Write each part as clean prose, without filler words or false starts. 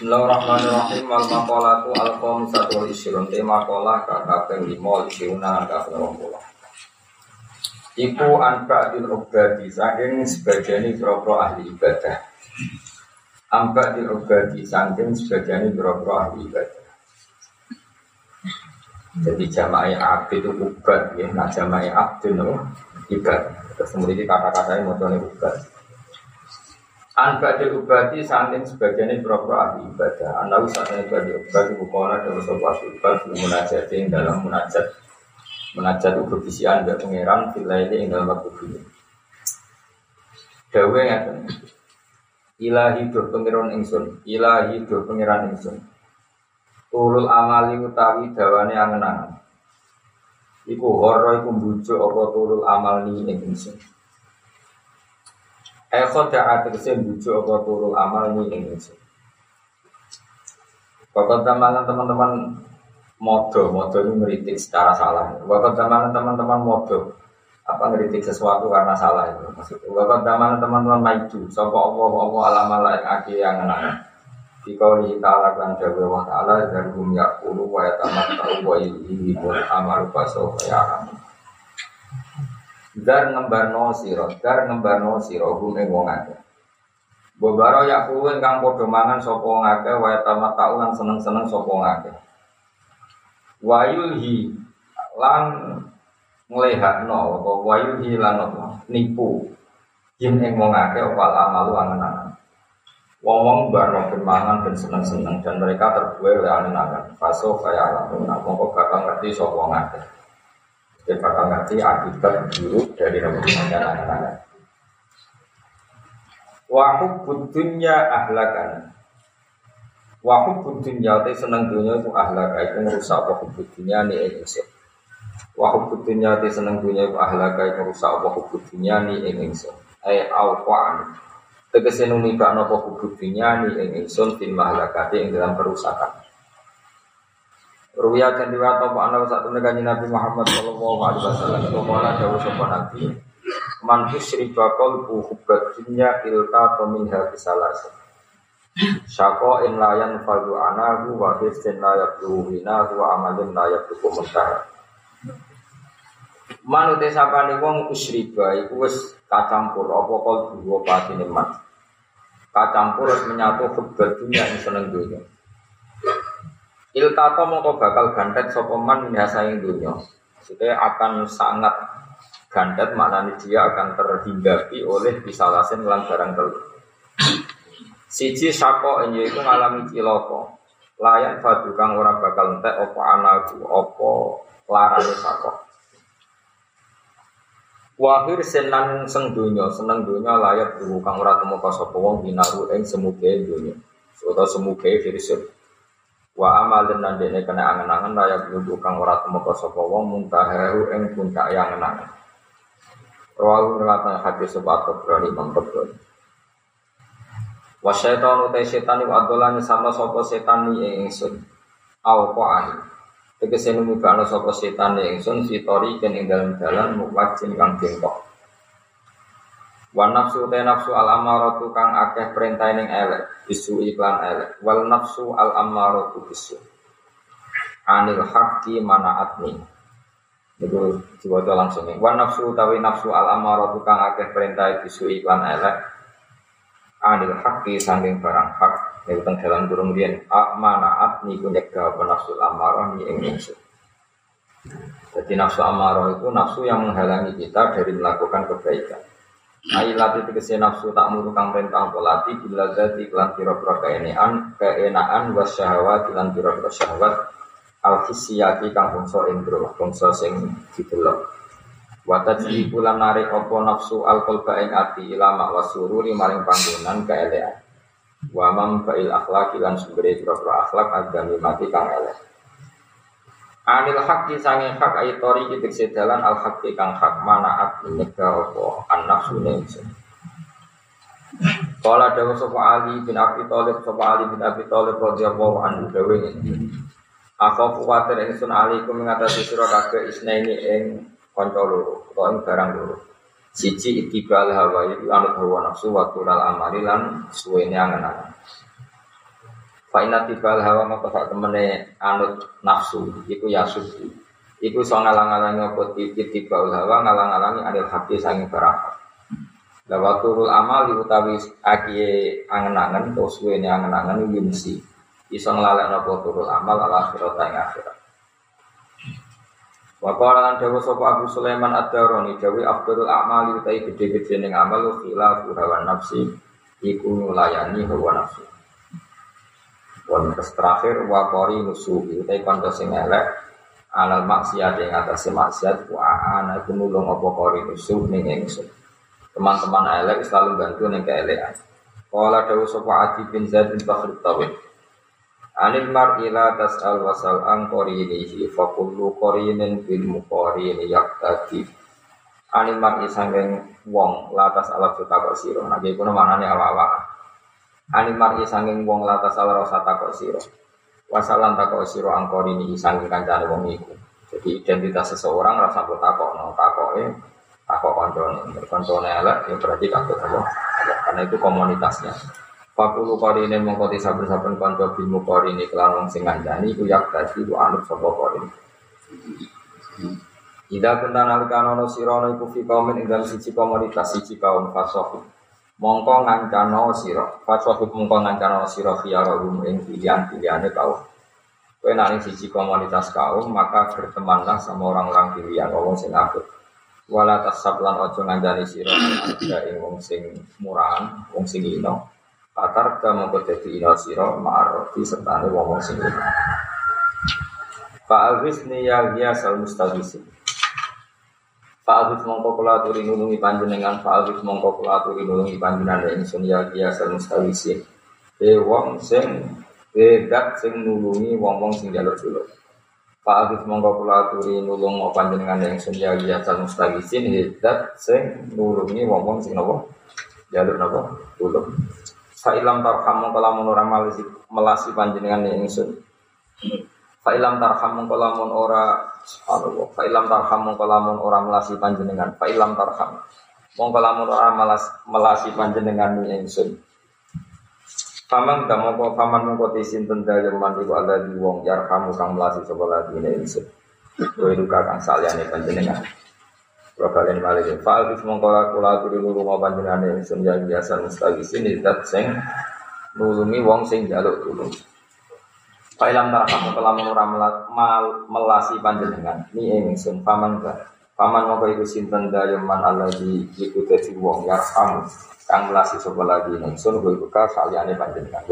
Bismillahirrahmanirrahim. Wal maqalatu al-qamisatu wal isyrun. Maqalah kaping 5 isyruna kaping 20. Iku anba'dil ubadi saking sebagian boro ahli ibadah. Anba'dil ubadi saking sebagian boro ahli ibadah. Jadi jama'i abd itu ubad ya, nah jama'i abd itu ibad. Terus kemudian kata-katanya modalnya ubad. Anba'dil ubadi saking sebagian boro ahli ibadah. Anawi saking bagi ubadi bukola dalam sebuah ubad munajat dalam munajat berbisian dari pangeran filaili ing dalam waktu ini. Dawe ngaten. Ilahi do pangeran ingsun, ilahi do pangeran ingsun. Tulul amali utawi dawane angen-angen. Iku horo iku mbujuk apa tulul amal ni ing ingsun. Khoda ategese mbujuk apa tulul amal ni ing ingsun. Pokok teman-teman modo itu ngeritik secara salah. Waktu zaman teman-teman modo ngeritik sesuatu karena salah itu maksudnya. Waktu zaman teman-teman maju, sapa apa alamala yang anak. Jika kita lakukan jawa Allah Taala dari bumi yakulu wa yatamatta'u wa yuhibul amalu faso kaya dar ngembarno sira gume wong akeh. Bobaro yakulu kang padha mangan sapa ngakeh wa yatamatta'u lan seneng-seneng sapa ngakeh. Wayulhi lan nglehakno apa wayulhi lan nipu yen ing wong akeh opal amalu angen-angen. Wong-wong barno mangan ben seneng-seneng dan mereka terbuai oleh angen-angen. Faso kaya lamun mongko bakal ngerti sapa wong akeh. Dia bakal ngerti akibat buruk dari rebutan angen-angen. Wa hubbud dunya ahlakan. Wa hubbud dunya te seneng dunya iku ahlaka iku ngrusak apa hubbud dunya ni ing ingsun. Wa hubbud dunya te seneng dunya iku ahlaka iku ngrusak apa hubbud dunya ni ing ingsun. Ai awqan. Tegese numibakno apa hubbud dunya ni ing ingsun fil mahlakati ing dalam kerusakan. Ruya kan diwato ana sak temene kanjeng Nabi Muhammad sallallahu alaihi wasallam kala dawuh sapa Nabi man tusriba qalbu hubbud dunya ilta minha bisalas. Syako in layan faldu anahu wa hifzin layak duhina wa amalin layak dukumentara. Manute sapane wong usriba iku wis kacampur apa kol dua patine man. Kacampur wis menyatu hubbat dunya ing seneng dunya. Iltato mongko bakal gantet sapa man minasa ing dunya. Maksudnya akan sangat gantet maknane dia akan terhinggapi oleh bisalasin lan barang telu. Siji sako enye iku ngalami cilaka. Layan fadu kang ora bakal entek apa anaku apa larane sako. Wahir senang seneng donya layak duhu kang ora temeka sapa wong binaru ing semuge donya. Utawa semuge firsut. Wa amalin nandene kena angen-angen layak duhu kang ora temeka sapa wong muntahahu ing puncak yang angen-angen. Rawu riwayat hadis sebab berani mengkebut. Wa syaitan utai setan iku adolane sama sapa setan ing ingsun. Au qa'ani. Tegese numibakno sapa setan ing ingsun sitori ken ing dalan muwajjin kang bengkok. Wa nafsu utai nafsu al amaratu kang akeh perintah ning elek, bisu iklan elek. Wal nafsu al amaratu bisu. Anil haqqi manaatni. Itu diwaca langsung. Wa nafsu utawi nafsu al amaratu kang akeh perintah bisu iklan elek. Anil haqqi sanging barang hak nek teng dalam durung riyen manaat niku nyegah nafsu amarah ni ing ingsun. Jadi nafsu amarah itu nafsu yang menghalangi kita dari melakukan kebaikan. Ailati tegese nafsu tak muru kang perintah polati bila zati lan pira-pira keenaan wasyahawat lan pira-pira syahwat al-hissiyati kang bangsa indra bangsa sing didelok. Wataji bulan narik opo nafsu al-qalba ing ati ilama wasururi maring panggonan keelean. Wa mam fa'il akhlaq lan sumber pira-pira akhlak agami mati kang elek. Anil haqqi sange hak aitori kitik sedalan al haqqi kang hak manaat nyegah opo an-nafsu nafsu. Qala dawu sapa Ali bin Abi Thalib radhiyallahu anhu dawe ngene. Aku kuwatir ingsun alaikum ngatasi sira kabeh isnaini ing kanca loro utawa ing barang loro. Siji itibal hawa iku anut hawa nafsu wa tulal amali lan suwene angen-angen. Fa inna tibal hawa maka sak temene anut nafsu iku ya suci. Iku iso ngalang-alangi apa tibal hawa ngalang-alangi anil hati sanging barang. Lawa turul amal utawi akiye angen-angen to suwene angen-angen yumsi. Iso nglalekno apa turul amal ala akhirat ing akhirat. Wa qala lan dawu sapa Abu Sulaiman Ad-Darani dawu afdalul a'mali utawi gedhe-gedhe ning amal khilafu hawa nafsi iku nulayani hawa nafsi. Wan terakhir wa qari nusuhi utawi kanca sing elek alal maksiat ing atase maksiat wa ana iku nulung apa qari nusuh ning ingsun. Teman-teman elek selalu bantu ning keelekan. Qala dawu sapa Adi bin Zaid bin Bakhr Tawil Anil mar'i la tas'al wasal an qarinihi fa kullu qarinin bil muqarini yaqtadi. Anil mar'i sanging wong la tas'al takok sira. Nek iku manane awak-awak. Anil mar'i sanging wong la tas'al rasa takok sira. Wasalan takok sira an qarinihi sanging kancane wong iku. Jadi identitas seseorang rasa takokno, takoke takok kancane. Kancane elek ya berarti takok apa? Karena itu komunitasnya. Fakulu qarine mongko saben-saben kanca bil muqarini kelan wong sing ngandani iku yak dadi ku anut sapa qarin. Ida kuntan alkanono sirana iku fi kaumin ing dalem siji komunitas siji kaum fasoh. Mongko ngancano sira. Fasoh mongko ngancano sira khiyarul ing pilihan-pilihane kaum. Kowe nek siji komunitas kaum maka bertemanlah sama orang-orang pilihan wong sing apik. Wala tasab lan aja ngandani sira ing wong sing murahan, wong sing ino. Patar kamu kedeti ina siro ma'arrofi sertane wong sing ina. Fa'alwis niyah sal mustagisi. Fa'alwis mongko kula aturi nulungi panjenengan. Fa'alwis mongko kula aturi nulungi panjenengan ingsun yah sal mustagisi. Wong sing bedat sing nulungi wong sing jalur dulu. Fa'alwis mongko kula aturi nulung panjenengan ingsun yah sal mustagisi. Bedat sing nulungi wong sing nopo jalur nopo dulu. Fa'ilam tarhamu kalamun ora melasi panjenengan ingsun. Fa'ilam tarhamu kalamun ora subhanallah. Fa'ilam tarhamu kalamun ora melasi panjenengan. Fa'ilam tarham. Mong kalamun ora melasi panjenengan ingsun. Paman damoko paman mongko sinten dalem iku ada di wong yarhamu kang melasi sapa lagi ingsun. Kowe duka kang saliyane panjenengan. Kalian balik fa'al bis mongkola kula turu rumah panjenengan ingsun yang biasa mustagisin zat sing nulungi wong sing njaluk tulung. Fa'ilam tarham kelamun ora melasi panjenengan ni ingsun paman mongko iku sinten dayaman alladzi iku dadi wong yarham kang melasi sapa lagi ingsun kowe buka saliyane panjenengan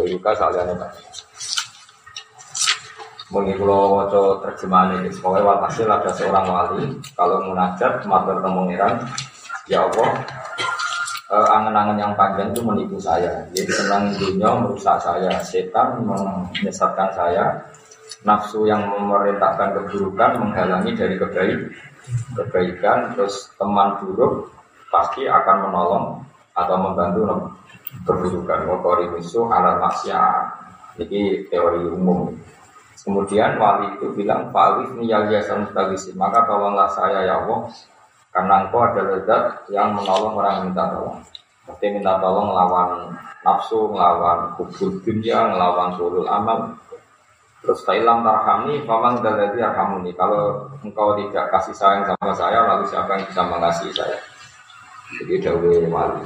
Mungkin kalau waca terjemahan ini, pokoknya walhasil ada seorang wali kalau munajat matur pengiran, ya Allah, angen-angen yang panjang itu menipu saya. Jadi senang dunia merusak saya, setan menyesatkan saya, nafsu yang memerintahkan keburukan menghalangi dari kebaikan, terus teman buruk pasti akan menolong atau membantu keburukan. Wakori musuh alat maksiat. Ini teori umum. Kemudian wali itu bilang, Fa'alif niyaliyasal mustagisin, maka tolonglah saya ya Allah, karena engkau adalah zat yang menolong orang yang minta tolong. Seperti minta tolong melawan nafsu, melawan hubul dunia, melawan sulul amal. Terus fa'ilam tarhamni, faman dalladhi arhamuni. Kalau engkau tidak kasih sayang sama saya, lalu siapa yang bisa mengasihi saya? Jadi dawuh wali.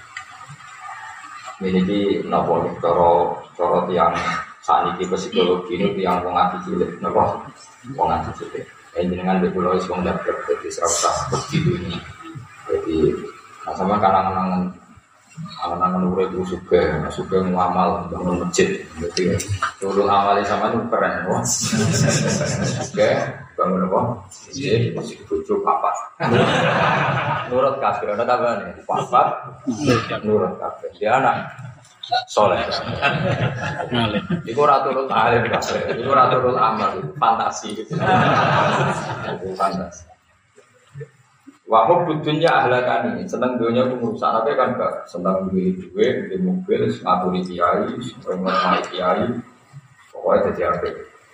Ini di nopo coro tiang saat ini psikologi ini yang mengaji cilik, nopo mengaji cilik. Dengan beberapa orang yang berarti serasa begitu ini. Jadi sama kangen-kangen urip suka ngamal bangun masjid. Jadi dulu awalnya sama itu keren, bos. Oke, bangun apa? Masjid, masjid tujuh papa. Nurut kafir, ada kabar nih? Papa, nurut kafir. Dia anak. Soleh, itu raturul alim, itu raturul amal, fantasi, itu fantasi. Wahub dunia ahlakani, senang dunia itu merusak apa kan gak? Senang duit, di mobil, ngaturi kiai, mengenai kiai, pokoknya jadi apa?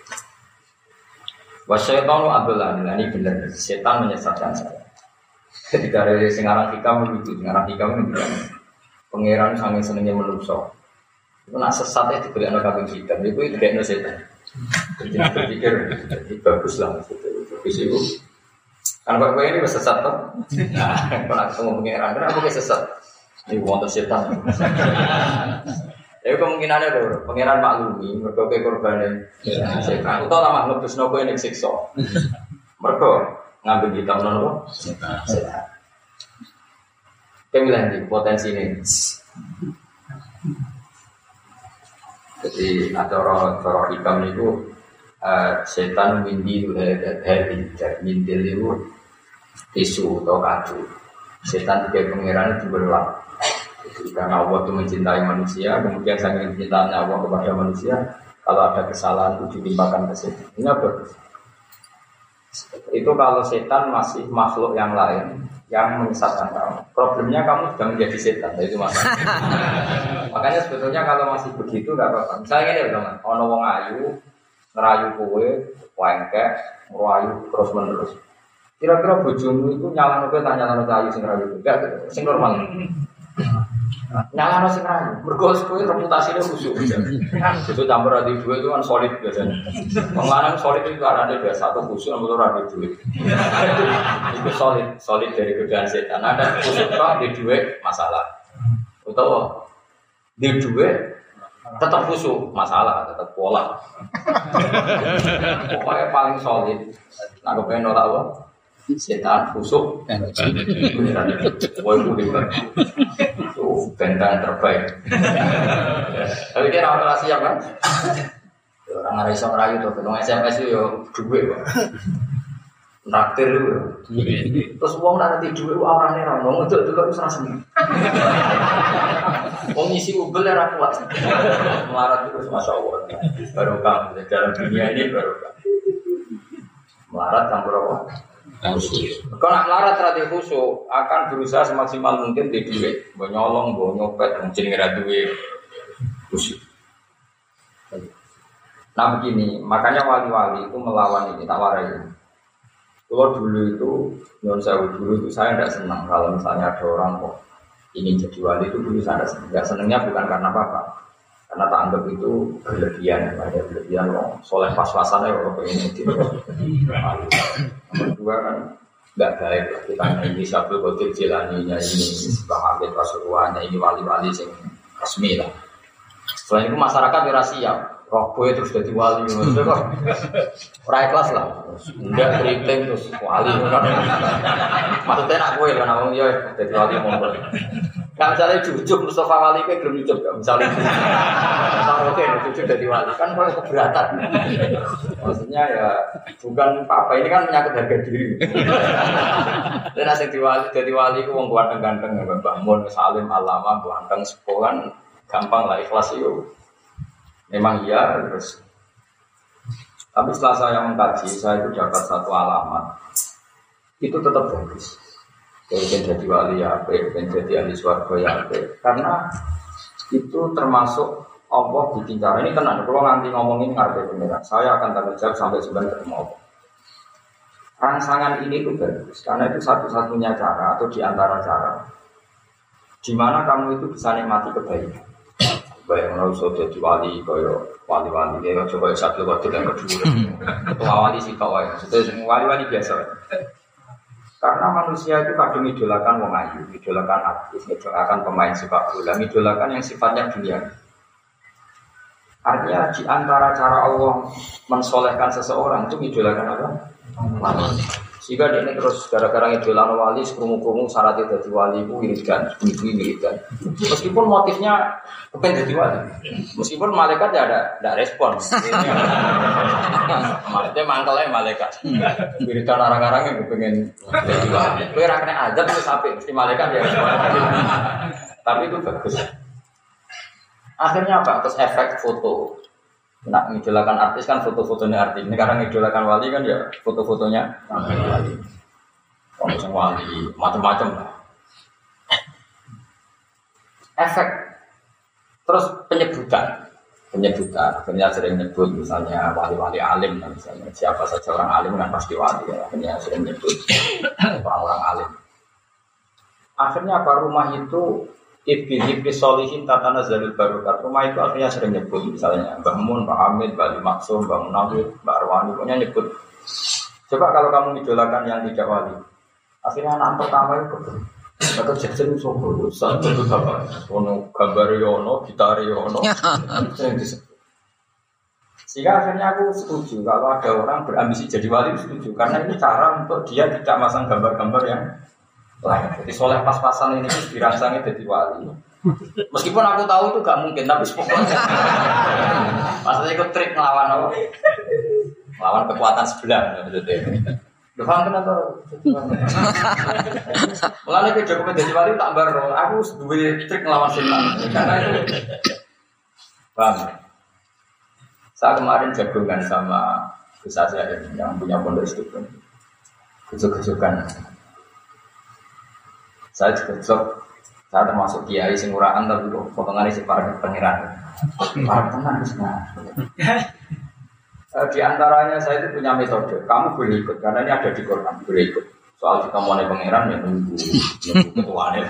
Wasyaiton adalah ini benar, setan menyesatkan saya. Ketika dari Singarang Hikam begitu, Singarang Hikam begitu. Pangeran sangat senangnya menusuk. Itu nak sesat itu tidak ada kambing hitam, itu tidak ada setan. Jadi berpikir, jadi bagus lah. Bagus itu. Kan kalau ini sesat tuh. Nah, kalau ketemu pengiran, kenapa kayak sesat? Ini wonten setan. Jadi kemungkinannya tuh, pengiran maklumi, berbagai korban setan. Atau lama ngebus nopo ini siksa. Mereka ngambil hitam nopo setan. Kemilah di potensi ini. Jadi ada orang hikam itu setan mindil mindil itu tisu atau kadu. Setan tiga pengiran itu berulang. Karena Allah itu mencintai manusia, kemudian saking cintanya Allah kepada manusia, kalau ada kesalahan itu ditimpakan ke setan. Ini bagus. Itu kalau setan masih makhluk yang lain yang menyesatkan kamu. Problemnya kamu sudah menjadi setan, itu masalah. Makanya sebetulnya kalau masih begitu nggak apa-apa. Misalnya ini teman, ono wong ayu ngerayu kowe, wengkek, ngerayu terus menerus. Kira-kira bojomu itu nyalano kowe tak nyalano ayu sing ngerayu? Enggak, sing normal. Nyalano sing ngerayu. Mergo kowe reputasine khusyuk. Itu campur adi dua itu kan solid biasanya. Wong lanang solid itu arane biasa satu khusyuk nomor ora duit. Itu solid dari godaan setan. Ada khusyuk kok di duit masalah. Utawa di duit tetap khusyuk masalah, tetap pola. Pokoknya paling solid. Nah, kepengen ora apa? Setan khusyuk. Woi kuliah. Itu bentang terbaik. Tapi dia orang siap kan? Orang ada iseng rayu tuh, ketemu SMS itu yo duit, naktir itu. Terus uang nanti duit, orangnya ramong itu juga bisa rasmi. Uang isi ubel ya kuat. Melarat terus masya Allah. Barokah dalam dunia ini barokah. Melarat campur apa? Kalau nak melarat terhadap khusyuk akan berusaha semaksimal mungkin di duit, nyolong, nyopet, mungkin ngira duit khusyuk. Nah begini, makanya wali-wali itu melawan ini, tak warai. Kalau dulu itu, non saya dulu itu saya tidak senang kalau misalnya ada orang kok ingin jadi wali itu dulu saya tidak senang. Tidak senangnya bukan karena apa-apa, karena tak anggap itu berlebihan, ada berlebihan loh. Soleh pas-pasannya kalau pengen jadi wali. Nomor dua kan nggak baik lah. Kita ini Syabul Qadir Jilaninya ini, Bang Abid Rasulullah ini wali-wali yang resmi lah. Selain itu masyarakat berasiap. Roh gue terus jadi wali, maksudnya kok rakyat kelas lah, enggak keriting terus wali, maksudnya nak gue kan awang dia jadi wali mongol. Kalau misalnya jujuk Mustafa Wali gue belum jujuk, misalnya oke jujuk jadi wali kan kalau keberatan, maksudnya ya bukan apa ini kan menyangkut harga diri. Dan asing jadi wali gue wong ganteng-ganteng, bangun salim alama ganteng sekolah gampang lah ikhlas itu. Memang iya terus. Tapi setelah saya mengkaji, saya itu dapat satu alamat. Itu tetap bagus. Jadi wali ya, jadi ahli swarga ya. Karena itu termasuk Allah bikin cara ini tenang. Kalau nanti ngomongin ngarep beneran, saya akan tanggung jawab sampai sebenarnya ketemu Allah. Rangsangan ini itu bagus karena itu satu-satunya cara atau diantara cara di mana kamu itu bisa nikmati kebaikan. Baik orang sudah jadi wali, kaya wali-wali dia coba satu waktu yang kedua, ketua wali sih kau ya, sudah wali-wali biasa. Karena manusia itu kadang idolakan wong ayu, idolakan artis, idolakan pemain sepak bola, idolakan yang sifatnya dunia. Artinya di antara cara Allah mensolehkan seseorang itu idolakan apa? Wali. Jika dia ini terus gara-gara idolan wali, sekrumu-krumu syaratnya jadi wali itu wiridan, wiridan. Meskipun motifnya kepengen jadi wali, meskipun malaikat ya ada respon. Maksudnya mangkelnya malaikat. Wiridan orang-orang yang kepengen jadi wali. Kue rakyatnya aja tuh sampai mesti malaikat ya. Tapi itu bagus. Akhirnya apa? Terus efek foto. Nak ngidolakan artis kan foto-fotonya artis. Ini karena ngidolakan wali kan ya foto-fotonya wali. Kalau wali macam-macam lah. Efek. Terus penyebutan. Akhirnya sering nyebut misalnya wali-wali alim, misalnya siapa saja orang alim kan pasti wali. Ya. Akhirnya sering nyebut orang-orang alim. Akhirnya apa rumah itu Ibni Solihin Tatana Zalul Barokat. Rumah itu akhirnya sering nyebut, misalnya Mbah Mun, Pak Hamid, Mbah Maksum, Mbah Munawir, Mbah Arwani, pokoknya nyebut. Coba kalau kamu idolakan yang tidak wali, akhirnya anak pertama itu atau Jackson Sobo, satu itu apa? Ono gambar Yono, gitar Yono, yang disebut. Sehingga akhirnya aku setuju kalau ada orang berambisi jadi wali, setuju karena ini cara untuk dia tidak masang gambar-gambar yang lain. Jadi soleh pas-pasan ini dirangsangnya jadi wali. Meskipun aku tahu itu gak mungkin, tapi pokoknya maksudnya ikut trik melawan apa? Melawan kekuatan sebelah. Udah paham kan atau? Mulanya ke Jokowi jadi wali tak baru. Aku dua trik melawan setan. Karena itu paham. Saya kemarin jagungan sama Gus Azhar yang punya pondok istiqomah. Kejuk-kejukan. Saya juga saya termasuk kiai sing uraan tapi kok potongan isi para pangeran. Para tenan semua. Di antaranya saya itu punya metode. Kamu boleh ikut karena ini ada di Quran, boleh ikut. Soal kita mau nih pangeran ya nunggu ketuanya.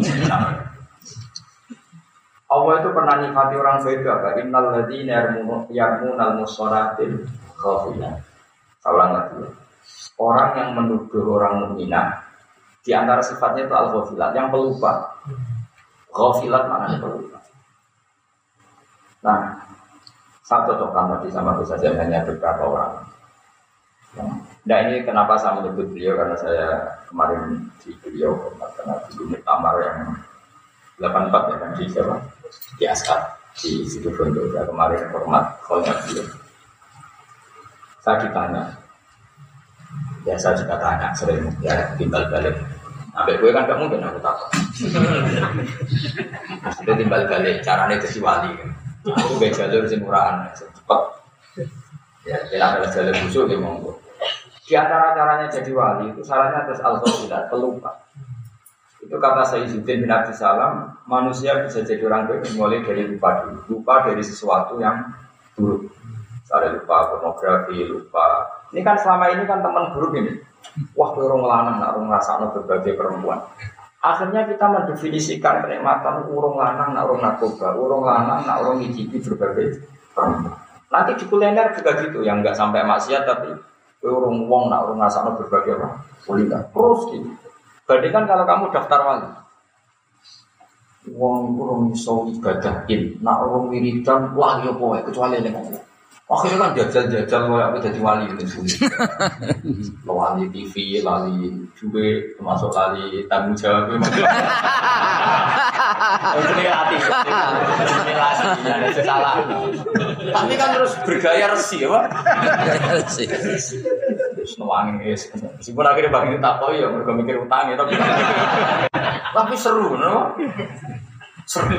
Allah itu pernah nifati orang baik apa? Innal ladzina yarmunal musharatil khafiyah. Salah lagi. Orang yang menuduh orang mukminah di antara sifatnya itu al-ghafilat, yang pelupa. Ghafilat maknanya pelupa. Nah, saya cocokkan tadi sama Gus Azhar hanya beberapa orang. Nah ini kenapa saya menyebut beliau, karena saya kemarin di beliau karena di Muktamar yang 84 ya kan di Jawa, di Askat, di situ Bondo. Saya kemarin hormat kholnya beliau. Saya ditanya, ya saya juga tanya sering ya timbal balik. Sampai gue kan gak mungkin aku takut. Maksudnya timbal balik caranya jadi wali kan. Aku gak jalur sing murahan cepat. Ya, kita adalah jalur busuk di monggo. Di antara caranya jadi wali itu syaratnya terus al-ghafilat, pelupa. Itu kata Sayyidina bin Abdus Salam, manusia bisa jadi orang baik mulai dari lupa dulu. Lupa dari sesuatu yang buruk. Misalnya lupa pornografi, lupa. Ini kan selama ini kan teman buruk ini. Wah, orang lanang nak orang rasanya berbagai perempuan. Akhirnya kita mendefinisikan kenikmatan urung lanang nak urung narkoba, urung lanang nak urung ngicipi berbagai perempuan. Nanti di kuliner juga gitu, yang enggak sampai maksiat tapi urung wong nak urung rasanya berbagai apa? Kuliner. Terus gitu. Bandingkan kalau kamu daftar wali. Wong urung iso ibadahin, nak urung wiridan wah yo pokoke kecuali nek akhirnya kan jajal-jajal kayak jadi wali gitu. Wali TV, lali juga termasuk lali tanggung jawab. Ini latih, ini latih, ada salah. Tapi kan terus bergaya resi, apa? Resi. Senuangin es. Meskipun akhirnya bagi tak tahu ya, mereka mikir utangnya, tapi seru, no? Seru.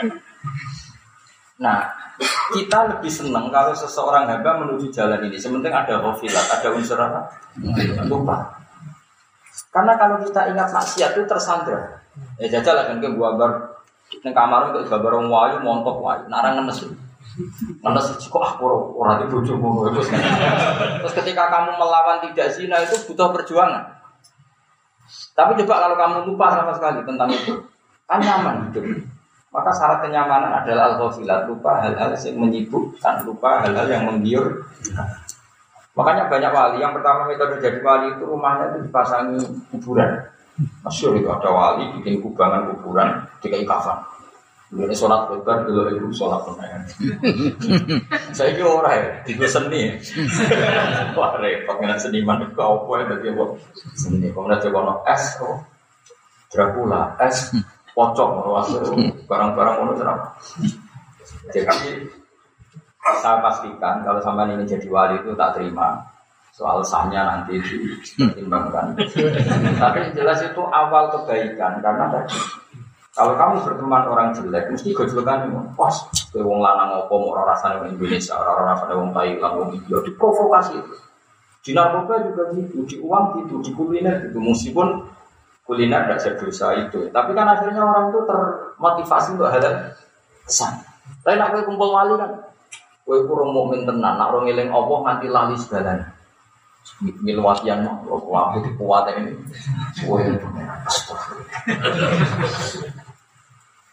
Nah, kita lebih senang kalau seseorang hamba menuju jalan ini. Sementing ada ghafilat, ada unsur apa? Lupa. Karena kalau kita ingat maksiat itu tersandra. Ya jajal kan ke gambar nang kamar untuk gambar wong wayu montok wayu. Narang ngenes. Ngenes kok ora di bojomu. Terus ketika kamu melawan tidak zina itu butuh perjuangan. Tapi coba kalau kamu lupa sama sekali tentang itu, kan nyaman hidup. Maka syarat kenyamanan adalah al-ghafilat, lupa hal-hal yang menyibukkan, lupa hal-hal yang menggiur. Makanya banyak wali, yang pertama metode jadi wali itu rumahnya itu dipasangi kuburan. Masyhur itu ada wali bikin kubangan kuburan dikai kafan. Ini sholat lebar dulu itu sholat penayan. Saya kira orang ya, itu seni. Wah repot dengan seniman itu apa ya bagi apa? Seni. Kemudian coba es, Dracula, es. Pocong, barang-barang itu serap. Jadi saya pastikan kalau sampai ini jadi wali itu tak terima. Soal sahnya nanti dipertimbangkan. Tapi jelas itu awal kebaikan karena tadi kalau kamu berteman orang jelek mesti gojlokan wah, kowe wong lanang apa mau rasane wong Indonesia, ora rasane wong Thailand, wong India diprovokasi itu. Di narkoba juga gitu, di uang gitu, di kuliner gitu. Meskipun kuliner tidak sedosa itu, tapi kan akhirnya orang itu termotivasi untuk hal-hal kesan. Tapi nak kowe kumpul wali kan, kowe kurang mukmin tenan, nak orang ngeling Allah nganti lali segalanya. Milwatian mah, wah itu kuat ini. Kowe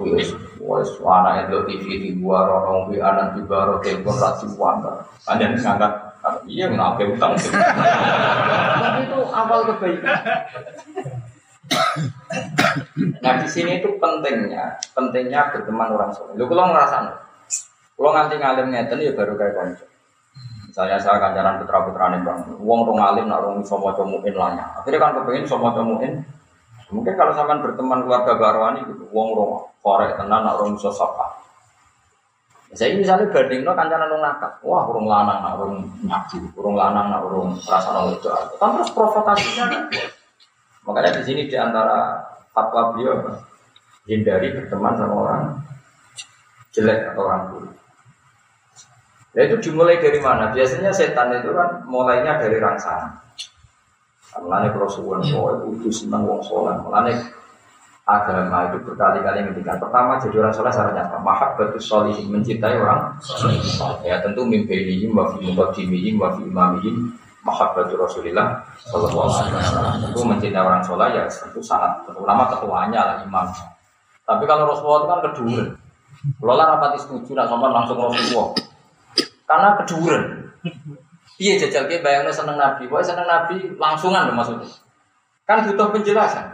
wes anake delok TV di luar orang wi anak di baro telepon rasi wanda. Panjen ngangkat iya ngake utang. Tapi itu awal kebaikan. Nah di sini itu pentingnya berteman orang soleh. Lu kalau ngerasain, kalau nganti ngalim ngeten ya baru kayak konco. Misalnya saya kancaran putra-putrane bang, uang rong alim nak rong somo comuin lahnya. Akhirnya kan kepengen somo comuin. Mungkin kalau sampean berteman keluarga barwani gitu, uang rong korek tenan nak rong sosapa. Saya misalnya bandingno kancaran rong nakal, wah rong lanang nak rong nyabu, rong lanang nak rong rasane itu. Kan terus provokasinya. Makanya di sini di antara fatwa beliau hindari berteman sama orang jelek atau orang buruk. Nah itu dimulai dari mana? Biasanya setan itu kan mulainya dari rangsangan. Mulanya kalau suwon soleh itu senang wong soleh. Mulanya agama itu berkali-kali ngendikan. Pertama jadi orang soleh syaratnya apa? Mahabbatus sholihin, mencintai orang soleh. Ya tentu mimpiihim wa fi muqaddimihim wa fi imamihim. Mahabbatur Rasulillah sallallahu alaihi wasallam. Itu mencintai orang soleh ya tentu sangat terutama ketuanya lah imam. Tapi kalau Rasulullah itu kan keduren. Kalau lah rapati setuju nak sopan langsung Rasulullah. Karena keduren. Iya jajal ke bayangnya seneng Nabi. Pokoknya seneng Nabi langsungan loh maksudnya. Kan butuh penjelasan.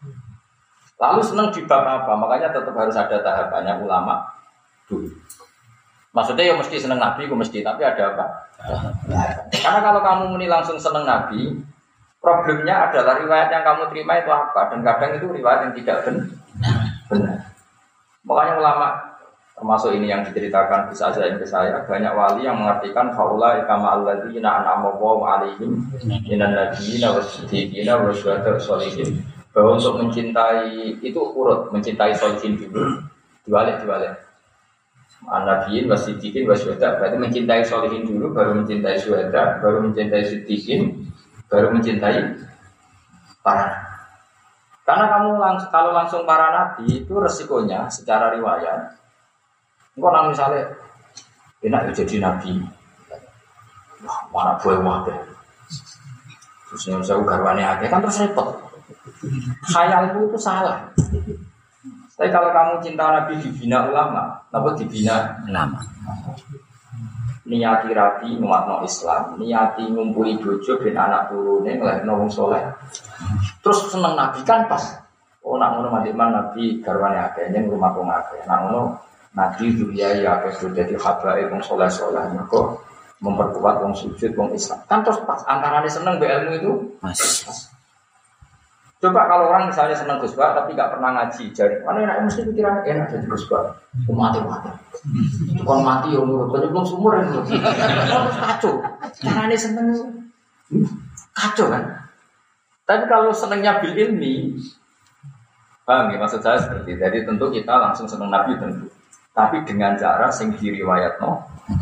Lalu seneng di bab apa? Makanya tetap harus ada tahapannya ulama dulu. Maksudnya ya mesti seneng Nabi, mesti. Tapi ada apa? Karena kalau kamu muni langsung seneng Nabi, problemnya adalah riwayat yang kamu terima itu apa? Dan kadang itu riwayat yang tidak benar. Makanya ulama termasuk ini yang diceritakan bisa saja ke saya, banyak wali yang mengartikan faula kama alladzina an'ama Allahu 'alaihim minan nabiyyin was-siddiqin was-syuhada'i was-sholihin. Bahwa untuk mencintai itu urut, mencintai sholihin dulu, dibalik. An-nabiyyin was-siddiqin was-syuhada'. Berarti mencintai sholihin dulu, baru mencintai syuhada, baru mencintai siddiqin, baru mencintai para. Karena kamu kalau langsung para nabi itu resikonya secara riwayat. Engkau nang misalnya enak jadi nabi, wah mana boleh deh. Terus yang saya garwane aja kan terus repot. Khayalmu itu salah. Tapi kalau kamu cinta nabi dibina ulama, apa dibina ulama? Niati rapi nguatno Islam, niati ngumpuli bojo ben anak turune nglahirno wong saleh. Terus seneng nabi kan pas. Oh nak ngono mandiman nabi garwane akeh ning rumah wong akeh. Nak ngono nabi dunia ya akeh dadi habae wong saleh-saleh mergo memperkuat wong sujud wong Islam. Kan terus pas antarane seneng mbek ilmu itu pas. Coba kalau orang misalnya senang Gus Bah tapi nggak pernah ngaji, jadi mana enak mesti pikiran enak jadi Gus Bah, mati. Tukang mati yang nurut, tapi belum sumur yang nurut. Harus kacau, caranya seneng kacau kan. Tapi kalau senangnya bil ilmi, paham ya maksud saya seperti. Jadi tentu kita langsung senang Nabi tentu, tapi dengan cara sing diriwayat no.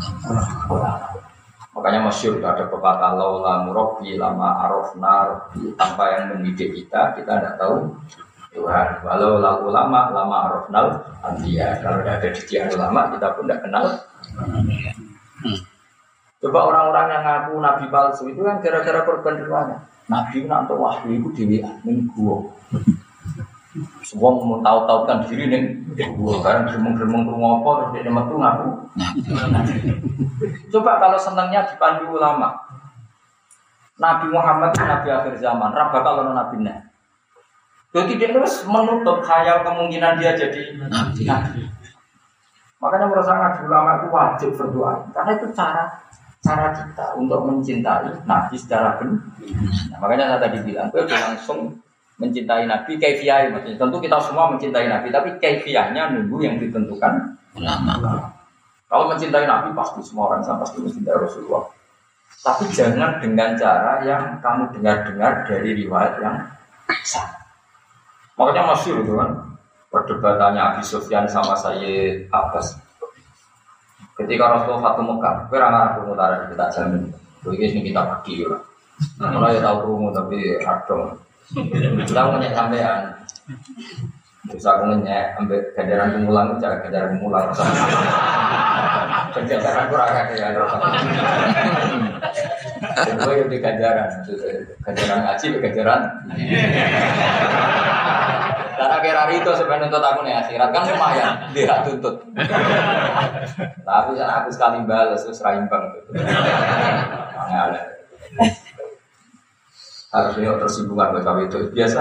Makanya masyhur ada pepatah laula murabbi lama arafna rabbi, tanpa yang mendidik kita tidak tahu Tuhan. Walau ulama lama arafnal anbiya, kalau tidak ada didikan ulama kita pun tidak kenal. Coba orang-orang yang ngaku nabi palsu itu kan gara-gara korban riwayat. Nabi nak untuk wahyu itu dewi ning gua. Semua mau tahu-tahu kan diri nih, gua sekarang geremeng-geremeng rumah apa terus dia metu ngaku. Coba kalau senangnya dipandu ulama, Nabi Muhammad itu Nabi akhir zaman, Rabbah kalau nabinya. Jadi dia terus menutup khayal kemungkinan dia jadi nabi. Makanya menurut saya ulama itu wajib berdoa, karena itu cara kita untuk mencintai Nabi secara benar. Nah, makanya saya tadi bilang, gue langsung mencintai Nabi kaifiyah, maksudnya tentu kita semua mencintai Nabi, tapi kaifiyahnya nunggu yang ditentukan ulama. Kalau mencintai Nabi pasti semua orang sama pasti mencintai Rasulullah. Tapi jangan dengan cara yang kamu dengar-dengar dari riwayat yang sah. Makanya masyhur itu kan perdebatannya Abi Sufyan sama Sayyid Abbas. Ketika Rasulullah Fatu Mekah, perang mutaran kita jamin. Begini kita pergi lah. Nah, ya tahu rumu tapi radong. Kita punya sampean. Terus aku nanya, ambil ganjaran kemulang, cara ganjaran kemulang. Ganjaran kurang ya, dan gue yang di ganjaran ngaji, ganjaran. Karena kira itu sebenarnya untuk aku nih akhirat kan lumayan, dia tuntut. Tapi aku sekali balas terus raimbang. Ada. Harusnya tersinggungan kalau itu biasa.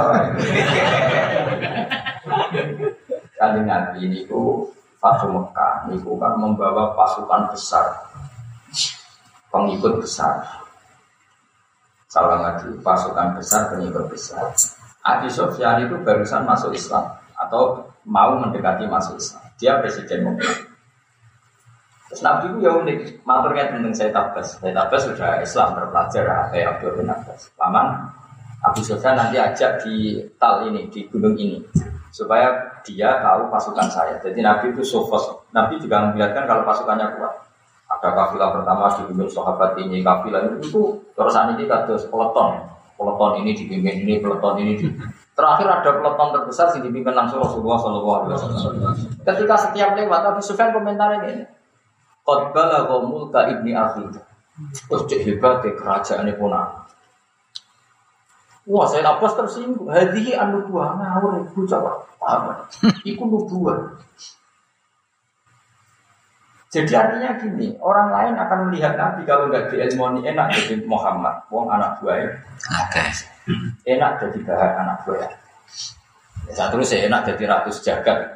Kali Nabi ini ku Fatu Mekah, ini kan membawa pasukan besar, pengikut besar. Salah lagi, pasukan besar, pengikut besar. Abi Sufyan itu barusan masuk Islam atau mau mendekati masuk Islam. Dia presiden Mekah. Terus Nabi itu ya unik, maturnya tentang Sayyid Abbas. Sayyid Abbas sudah Islam terpelajar, kayak Abdul bin Abbas. Paman Abi Sufyan nanti ajak di tal ini, di gunung ini, supaya dia tahu pasukan saya. Jadi Nabi itu sofos. Nabi juga melihatkan kalau pasukannya kuat. Ada kafilah pertama dipimpin sahabat ini, kafilah itu terusan ini kados peleton ini dipimpin ini, peleton ini terakhir ada peleton terbesar yang dipimpin langsung Rasulullah SAW. Ketika setiap lewat Abu Sufyan komentarnya ini, qad balagha mulka ibni akhi. Terus cek hebat kerajaan punah. Wah, saya lapas tersinggung. Hadihi an-nubuwah ngawur ibu coba. Apa? Iku nubuwah. Jadi artinya gini, orang lain akan melihat Nabi kalau nggak diilmoni enak jadi Muhammad, wong anak buah. Enak jadi bahan anak buah. Ya, terus saya enak jadi ratus jagat.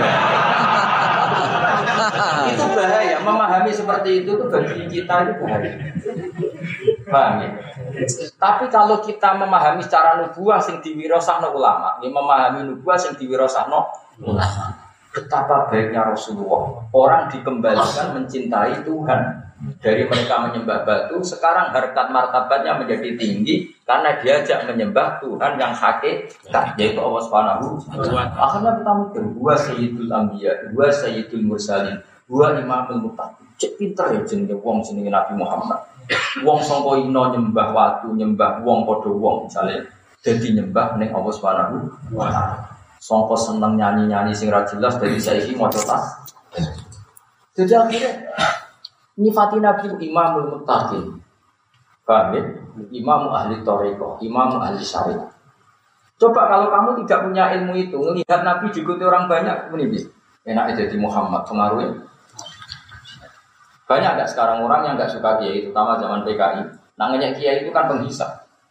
Itu bahaya. Memahami seperti itu tuh bagi kita itu bahaya. Paham ya? Tapi kalau kita memahami secara nubuah sing diwirasakno ulama, ini memahami nubuah sing diwirasakno ulama. Betapa baiknya Rasulullah. Orang dikembalikan mencintai Tuhan. Dari mereka menyembah batu, sekarang harkat martabatnya menjadi tinggi karena diajak menyembah Tuhan yang hakikat, yaitu Allah Subhanahu wa Ta'ala. Akhirnya kita mikir, huwa sayyidul anbiya, huwa sayyidul mursalin, huwa imamul muttaqin. Cek pinter ya jenenge wong jenenge Nabi Muhammad. Wong sangka ino nyembah watu, nyembah wong padha wong misale dadi nyembah ning Allah Subhanahu wa Ta'ala. Sangka seneng nyanyi-nyanyi sing ra jelas dari saiki maca tas. Jadi akhirnya nyifati Nabi imamul muttaqin. Paham ya? Imam ahli thariqah, imam ahli syariah. Coba kalau kamu tidak punya ilmu itu, melihat Nabi diikuti orang banyak, ini enak jadi Muhammad pengaruhnya. Banyak enggak sekarang orang yang enggak suka kiai, terutama zaman PKI. Namanya kiai itu kan penghisap.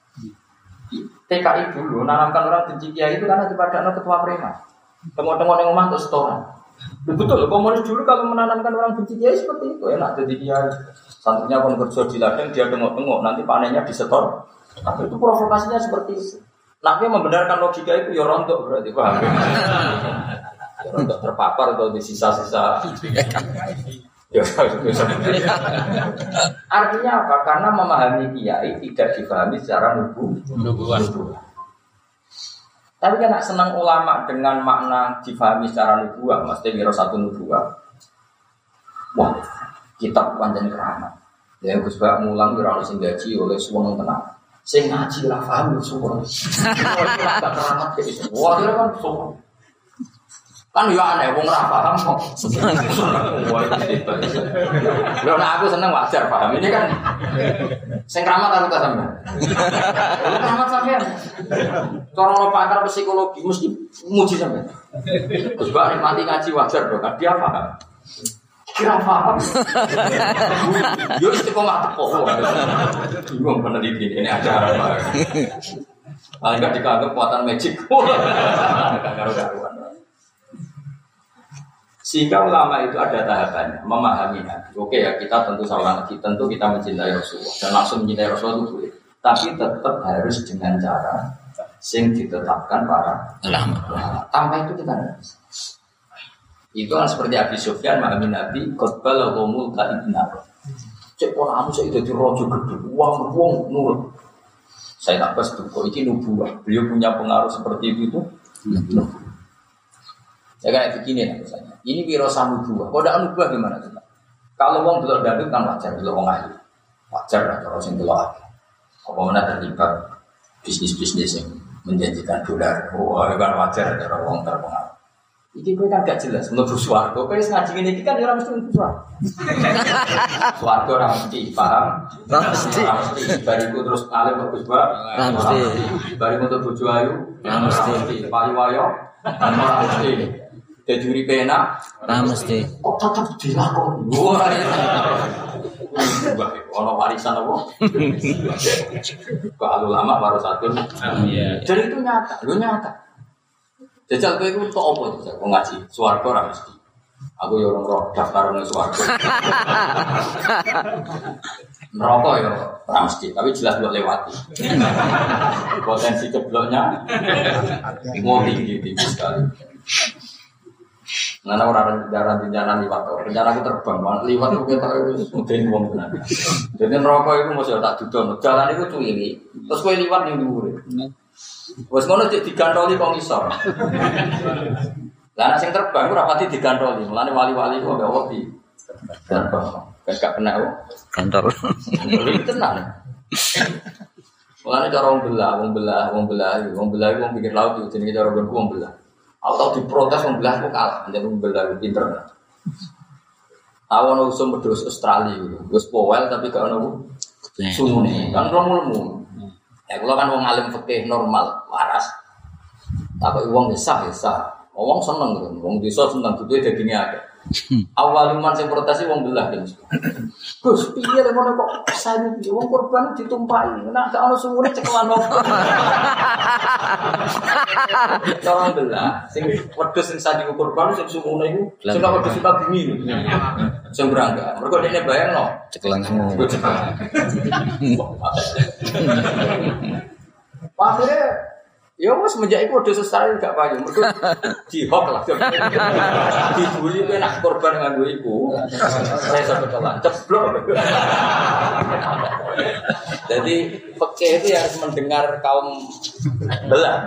PKI dulu nanamkan orang benci kiai itu karena daripada ketua preman. Tengok-tengok yang omah untuk setoran. Betul, komunis dulu kalau menanamkan orang benci kiai seperti itu, enak jadi kiai. Santrinya pun kerja di ladang, dia tengok-tengok, nanti panennya disetor. Tapi itu provokasinya seperti itu. Nabi membenarkan logika itu ya rontok berarti, paham? Ya rontok terpapar atau di sisa-sisa. Ya, artinya apa? Karena memahami kiai tidak dipahami secara nubuwah. Tapi kan senang ulama dengan makna difahami secara nubuwah, mesti kira satu nubuwah. Wah, kitab panjang keramat. Ya Gus Bak mulang kira ono sing gaji oleh suwung tenang. Sing ngaji lah paham suwung. Wah, keramat gitu. Wah, kira kan suwung. Kan ya aneh, wong ora paham kok. Wah, itu. Lho nek aku seneng wajar paham. Ini kan sing keramat aku tak sampean. Keramat sampean. Cara lo pakar psikologi mesti muji sampean. Terus bak mati ngaji wajar dong, kan dia paham. Kira paham. Yo istiqomah teko. Bingung peneliti ini acara apa. Paling enggak dianggap kekuatan magic. Karuan. Sehingga ulama itu ada tahapannya, memahami Nabi. Oke ya, kita tentu salah lagi, tentu kita mencintai Rasulullah dan langsung mencintai Rasulullah itu boleh. Tapi tetap harus dengan cara yang ditetapkan para ulama. Tanpa itu kita tidak bisa. Itu kan seperti Abi Sufyan memahami Nabi, qotbal qomul ta'ibna. Cek pola kamu saya itu rojo gede, wong nurut. Saya tak pas tuh, kok ini nubuah. Beliau punya pengaruh seperti itu. Ya kayak begini lah misalnya. Ini wirasa nubuwah. Kok ada nubuwah gimana coba? Kalau wong delok dangdut kan wajar, delok wong ahli. Wajar lah kalau sing delok ahli. Apa mana terlibat bisnis-bisnis yang menjanjikan dolar. Oh, kan wajar cara wong terpengaruh. Iki kowe kan gak jelas mlebu swarga. Kowe wis ngaji ngene iki kan ora mesti mlebu swarga. Swarga ora mesti, paham? Ora mesti. Bariku terus alim mlebu swarga. Ora mesti. Bariku untuk bojo ayu, Ora mesti. payu wayo, ora mesti. Dadi uripe enak, Ora mesti. kok tetep dilakoni. Ora. Ono warisan apa? Kalau lama baru satu. Iya. Jadi itu nyata, lu nyata. Jajal kowe iku tok apa jajal kok ngaji swarga ora mesti. Aku ya orang roh daftar nang swarga. Neraka ya ora mesti, tapi jelas mbok lewati. Potensi cebloknya mau tinggi sekali. Nana orang rencana liwat, rencana aku terbang, liwat aku kita harus mudahin uang benar. Jadi neraka itu mesti tak duduk, jalan itu cuili, terus kau liwat yang dulu. Wes ngono digantoli kok ngisor. Lah nek sing terbang ora pati digantoli, mulane wali-wali kok gak wedi. Terbang. Gak kena kok. Kantor. Iki tenan. Mulane cara wong belah iku wong pikir laut itu jenenge cara wong belah. Atau diprotes wong belah kok kalah, jenenge wong belah pinter. Awon usum pedus Australia gitu. Wis powel tapi gak ono sumune. Kan lemu. Ya kalau kan wong alim fikih normal, waras. Tapi wong sah. Wong seneng gitu. Wong desa seneng duwe dagingnya akeh. Awaluman sing protes wong belah kan. Gus, piye lek ngono kok sayu wong korban ditumpahi. Nek gak ono sumune cekelan opo. Wong belah sing wedhus sing sadi korban sing sumune iku sing wedhus kita bumi. Sing berangga. Mergo dekne bayangno Cekelan semua. Akhirnya, ya mas semenjak itu udah selesai gak payu, mereka dihok lah, dibully itu enak korban dengan gue ibu, saya sampai jalan ceblok. Jadi peke itu harus mendengar kaum belah.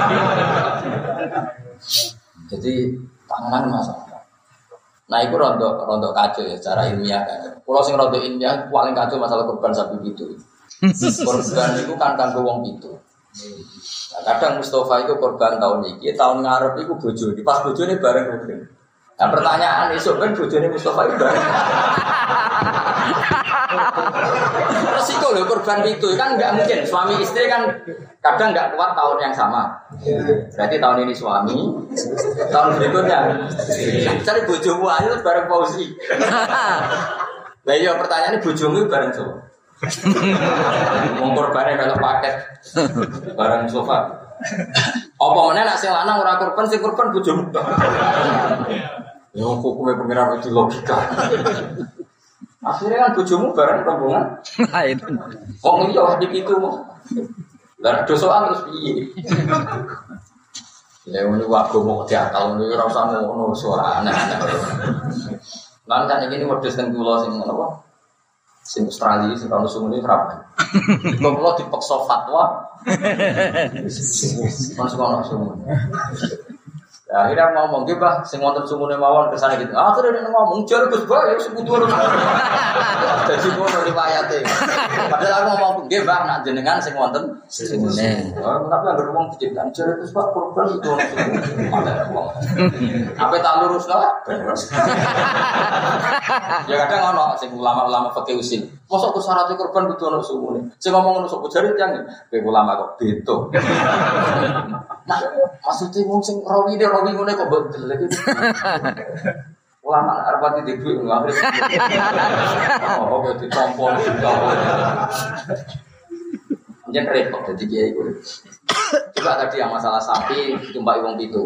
Jadi tangan masalah. Nah itu rontok kacau ya secara ilmiah kan. Kalau sing rontok ilmiah paling kacau masalah korban sapi itu. Korban itu kan kanggo wong itu. Nah, kadang Mustafa itu korban tahun ini, tahun ngarep itu bojo, di pas bojo ini bareng rutin. Nah pertanyaan esok kan bojo ini Mustafa itu bareng. Resiko loh korban itu kan nggak mungkin suami istri kan kadang nggak kuat tahun yang sama. Berarti tahun ini suami, tahun berikutnya cari bojomu ayo bareng Fauzi. Nah iya pertanyaannya bojomu bareng siapa? Wong korbane melok paket barang sofa. Apa meneh nek sing lanang ora korban sing korban bojomu. Ya hukume pengiran itu logika. Akhirnya kan bojomu bareng rombongan. Lain. Wong liya iki itu. Lah dosoan terus piye? Ya ngono wae agama diakal ngono ora usah ngono suara aneh-aneh. Lan kan iki wedhus teng kula sing ngono apa? Sing Australia sing kalau sumune rapi. Kalau dipaksa fatwa, masuk ono sumune. Ya akhirnya ngomong gitu bah, sing wonten sumune mawon kesana gitu. Akhirnya dia ngomong jar Gus Bah ya sebutuh. Jadi ngono riwayate. Padahal aku ngomong nggih Mbak nak jenengan sing wonten sumune. Tapi anggere wong diciptakan jar Gus Bah korban itu ono sumune. Apa tak lurus lah? Ya kadang ono sing ulama-ulama fikih usil. Mosok ku syarat korban kudu ono sumune. Sing ngomong ngono sok jare tiyang kowe ulama kok beto. Nah, maksudnya wong sing rawi ngene kok betul lagi. Ulama arep di dhuwit ngambil. Oh, oke ditompol. Jangan repot jadi kiai iku. Coba tadi yang masalah sapi ditumpaki wong pitu.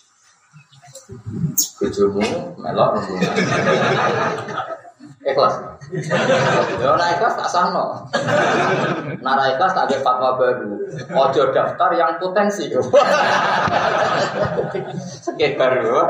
Bojomu melok rombongan. Ikhlas. Ya ora ikhlas tak sahno. Nara ikhlas tak ada fatwa baru. Ojo daftar yang potensi. Sekedar yo.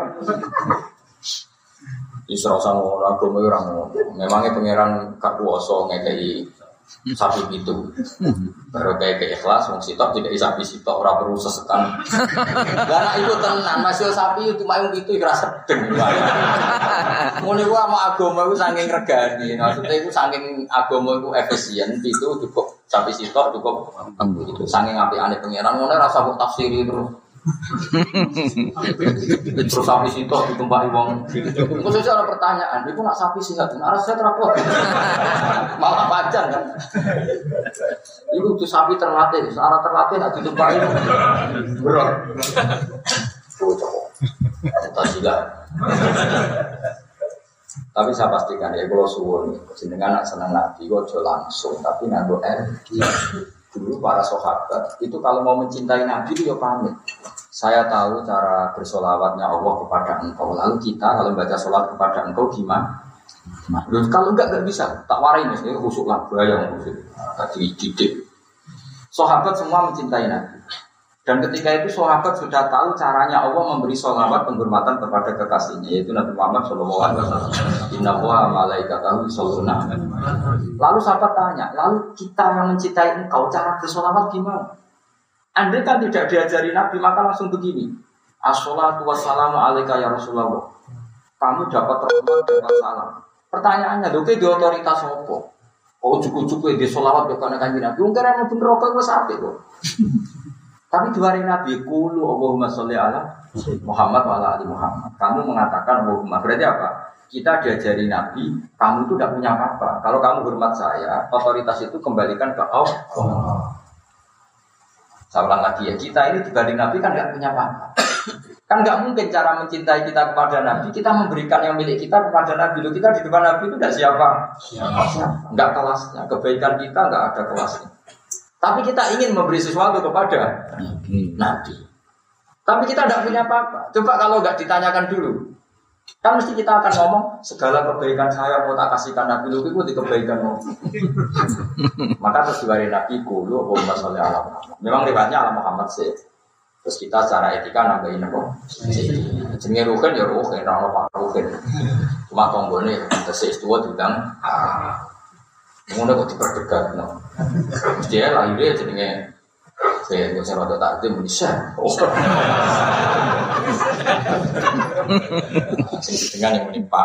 Isra sama orang agama orang memangnya pangeran gak kuwasa ngekei sapi itu. Baru kayak ikhlas wong sitok tidak sapi sitok ora perlu sesekan. Lah iku tenan masih sapi itu mayung itu ora sedeng. Ngono iku ama agama iku saking regani. Maksudnya iku saking agama iku efisien itu cukup sapi sitok cukup itu saking apikane pangeran ngono ora usah tafsiri terus. Terus sapi situ ditumpahi wong. Khususnya ada pertanyaan, itu nak sapi sih nggak? Arah saya terapot, malah pajan kan? Itu tuh sapi terlatih, searah terlatih nak ditumpahi. Berat. Kita sila. Tapi saya pastikan ya kalau suwun jenengan nak senang nabi kok langsung tapi nganggo energi. Dulu para sahabat itu kalau mau mencintai nabi itu ya pamit. Saya tahu cara bersolawatnya Allah kepada engkau. Lalu kita kalau baca solat kepada engkau gimana? Kalau enggak bisa. Tak warai mesti khusuk lah bayang khusuk. Tadi didik. Sahabat semua mencintai nabi. Dan ketika itu sahabat sudah tahu caranya Allah memberi sholawat penghormatan kepada kekasihnya yaitu Nabi Muhammad SAW. Inna wa malaikatahu yusholluna. Lalu sahabat tanya, lalu kita yang mencintai engkau cara bersholawat gimana? Andai kan tidak diajari Nabi maka langsung begini. Asholatu wassalamu alaika ya Rasulullah. Kamu dapat rahmat dapat salam. Pertanyaannya, oke di otoritas apa? Oh cukup-cukup di sholawat bukan kanjeng Nabi. Mungkin yang bener rokok gue sampai kok. Tapi di hari Nabi kulu Allahumma sholli ala Muhammad wa ala ali Muhammad. Kamu mengatakan Allahumma. Berarti apa? Kita diajari Nabi, kamu itu tidak punya apa-apa. Kalau kamu hormat saya, otoritas itu kembalikan ke Allah. Saya ulang lagi ya, kita ini dibanding Nabi kan tidak punya apa-apa. Kan nggak mungkin cara mencintai kita kepada Nabi, kita memberikan yang milik kita kepada Nabi. Loh, kita di depan Nabi itu tidak siapa? Nggak kelasnya. Kebaikan kita nggak ada kelasnya. Tapi kita ingin memberi sesuatu kepada Nabi. Tapi kita tidak punya apa-apa. Coba kalau nggak ditanyakan dulu, kan mesti kita akan ngomong segala kebaikan saya mau tak kasihkan Nabi. Lu itu di kebaikanmu. Maka terus diwari Nabi kulu Allahumma sholli ala Muhammad. Memang riwayatnya ala Muhammad sih. Terus kita secara etika nambahin apa? Jenenge ruhin ya ruhin, ora apa ruhin. Cuma tonggone tesis tua diundang. Ngono kok diperdegat no. Dia lahirnya jenenge saya nggak usah tak ada Indonesia. Dengan yang menimpa.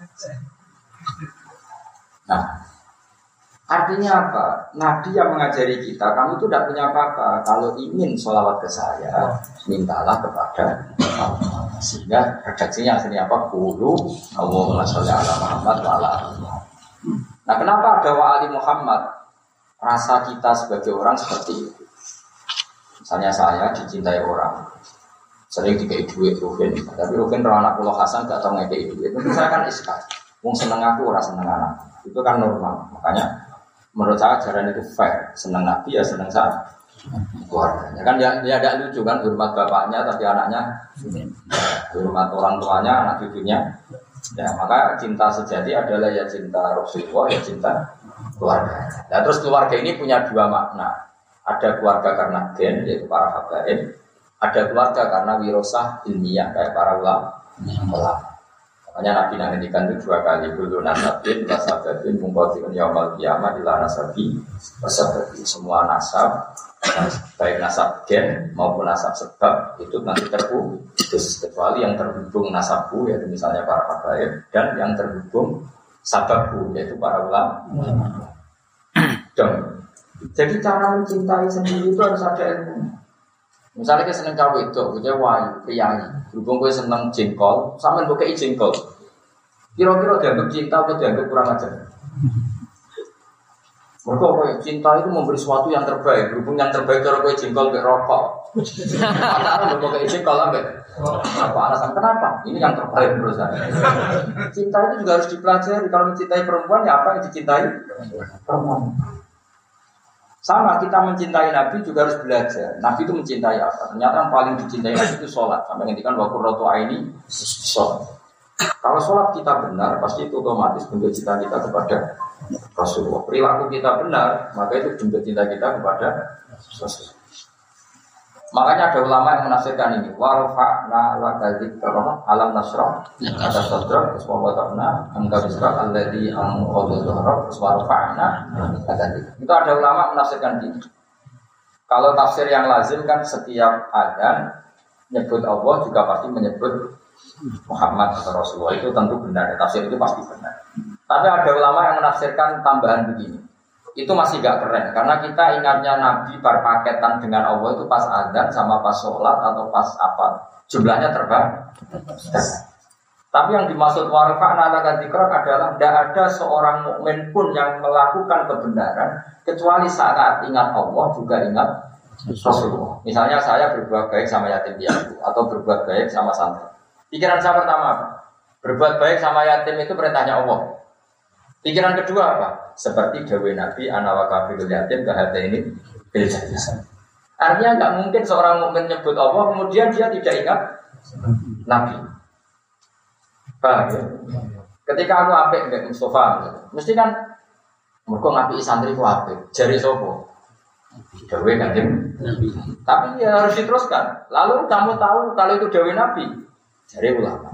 Nah, artinya apa? Nabi yang mengajari kita, kamu itu tidak punya apa-apa. Kalau ingin sholawat ke saya, mintalah kepada Allah. Sehingga redaksinya aslinya apa? Qulu Allahumma sholli ala Muhammad wa ala ali Muhammad. Nah, kenapa ada wa ali Muhammad? Rasa kita sebagai orang seperti itu. Misalnya saya dicintai orang, sering dikei duit Ruhin, tapi Ruhin kalau anak pulau Hasan gak tau ngekei duit, itu saya kan iskat. Wong seneng aku, orang seneng anak, itu kan normal. Makanya menurut saya ajaran itu fair, seneng Nabi ya seneng saya keluarganya. Kan dia ada lucu kan, hormat bapaknya tapi anaknya, hormat orang tuanya, anak cucunya. Ya maka cinta sejati adalah ya cinta Rasulullah, ya cinta keluarga. Nah terus keluarga ini punya dua makna. Ada keluarga karena gen, yaitu para habaib. Ada keluarga karena wirosah ilmiah, kayak para ulama. Makanya Nabi nantikan itu dua kali. Dulu nasabin, nasabin, mengkotikan yawmal qiyamah ila nasabi, nasabi. Semua nasab, baik nasab gen maupun nasab sebab, itu nanti terputus. Kecuali yang terhubung nasabku, yaitu misalnya para habaib. Dan yang terhubung sababku, yaitu para ulama. Jadi cara mencintai sendiri itu harus ada ilmu. Misalnya kita seneng cawe itu, kita wayu, priayi. Berhubung kita seneng jengkol, sama dengan kei jengkol. Kira-kira dianggap cinta atau dianggap kurang ajar? Mereka cinta itu memberi sesuatu yang terbaik. Berhubung yang terbaik kalau kue jengkol ke rokok. Antara berhubung kei jengkol sampai apa alasan kenapa? Ini yang terbaik menurut saya. Cinta itu juga harus dipelajari. Kalau mencintai perempuan, ya apa yang dicintai perempuan? Sama kita mencintai Nabi juga harus belajar. Nabi itu mencintai apa? Ternyata yang paling dicintai Nabi itu sholat. Sampai ngendikan wa qurratu aini sholat. Kalau sholat kita benar, pasti itu otomatis bentuk cinta kita kepada Rasulullah. Perilaku kita benar, maka itu bentuk cinta kita kepada Rasulullah. Makanya ada ulama yang menafsirkan ini. Wa rafa'na laka dzikraka alam nasrah. Ada sadra wa wada'na anka bisra alladzi anqadha dhahrak wa rafa'na laka dzikra. Itu ada ulama menafsirkan ini. Kalau tafsir yang lazim kan setiap adzan nyebut Allah juga pasti menyebut Muhammad atau Rasulullah, itu tentu benar. Tafsir itu pasti benar. Tapi ada ulama yang menafsirkan tambahan begini. itu masih gak keren karena kita ingatnya Nabi berpaketan dengan Allah itu pas adzan sama pas sholat atau pas apa jumlahnya terbang. Tapi yang dimaksud warfa'na laka dzikrak adalah tidak ada seorang mukmin pun yang melakukan kebenaran kecuali saat ingat Allah juga ingat Rasulullah. Misalnya saya berbuat baik sama yatim piatu atau berbuat baik sama santri. Pikiran saya pertama apa? Berbuat baik sama yatim itu perintahnya Allah. Pikiran kedua apa? Seperti dawuh Nabi ana wa kafirul yatim kahataini bil jannah. Artinya enggak mungkin seorang mukmin nyebut Allah kemudian dia tidak ingat Nabi. Paham ya? Ketika aku apik mbek Mustafa, mesti kan mergo ngapiki santri ku apik. Jare sapa? Dawuh Kanjeng Nabi. Tapi ya harus diteruskan. Lalu kamu tahu kalau itu dawuh Nabi? Jare ulama.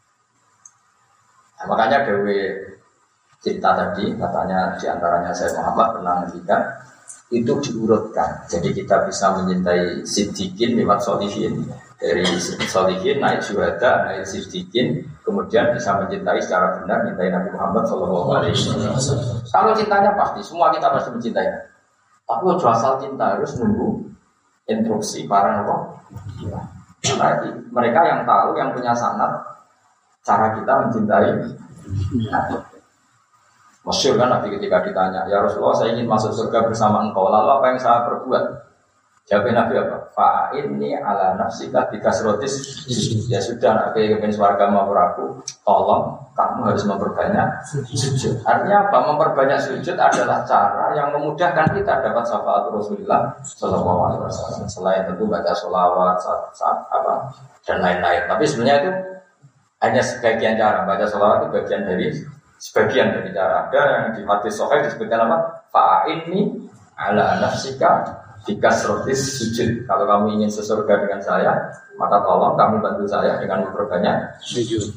Nah, makanya dawuh cerita tadi katanya diantaranya saya Muhammad pernah ngendikan itu diurutkan jadi kita bisa mencintai siddiqin lewat sholihin dari sholihin naik syuhada naik siddiqin kemudian bisa mencintai secara benar mencintai Nabi Muhammad SAW. Kalau cintanya pasti semua kita pasti mencintai tapi asal cinta harus nunggu instruksi para nabi karena mereka yang tahu yang punya sanad cara kita mencintai Nabi. Masyhur kan Nabi ketika ditanya, ya Rasulullah saya ingin masuk surga bersama engkau, lalu apa yang saya perbuat? Jawab Nabi apa? Fa'inni ala nafsika bikasrotis. Ya sudah, Nabi ingin surga mau aku, tolong kamu harus memperbanyak sujud. Artinya apa? Memperbanyak sujud adalah cara yang memudahkan kita dapat syafaat Rasulullah Sallallahu Alaihi Wasallam. Selain tentu baca sholawat, apa dan lain-lain. Tapi sebenarnya itu hanya sebagian cara. Baca sholawat itu bagian dari sebagian dari cara. Ada yang di hadis sahih disebutkan apa? Fa'inni ala nafsika bikasrotis sujud. Kalau kamu ingin sesurga dengan saya, maka tolong kamu bantu saya dengan memperbanyak sujud.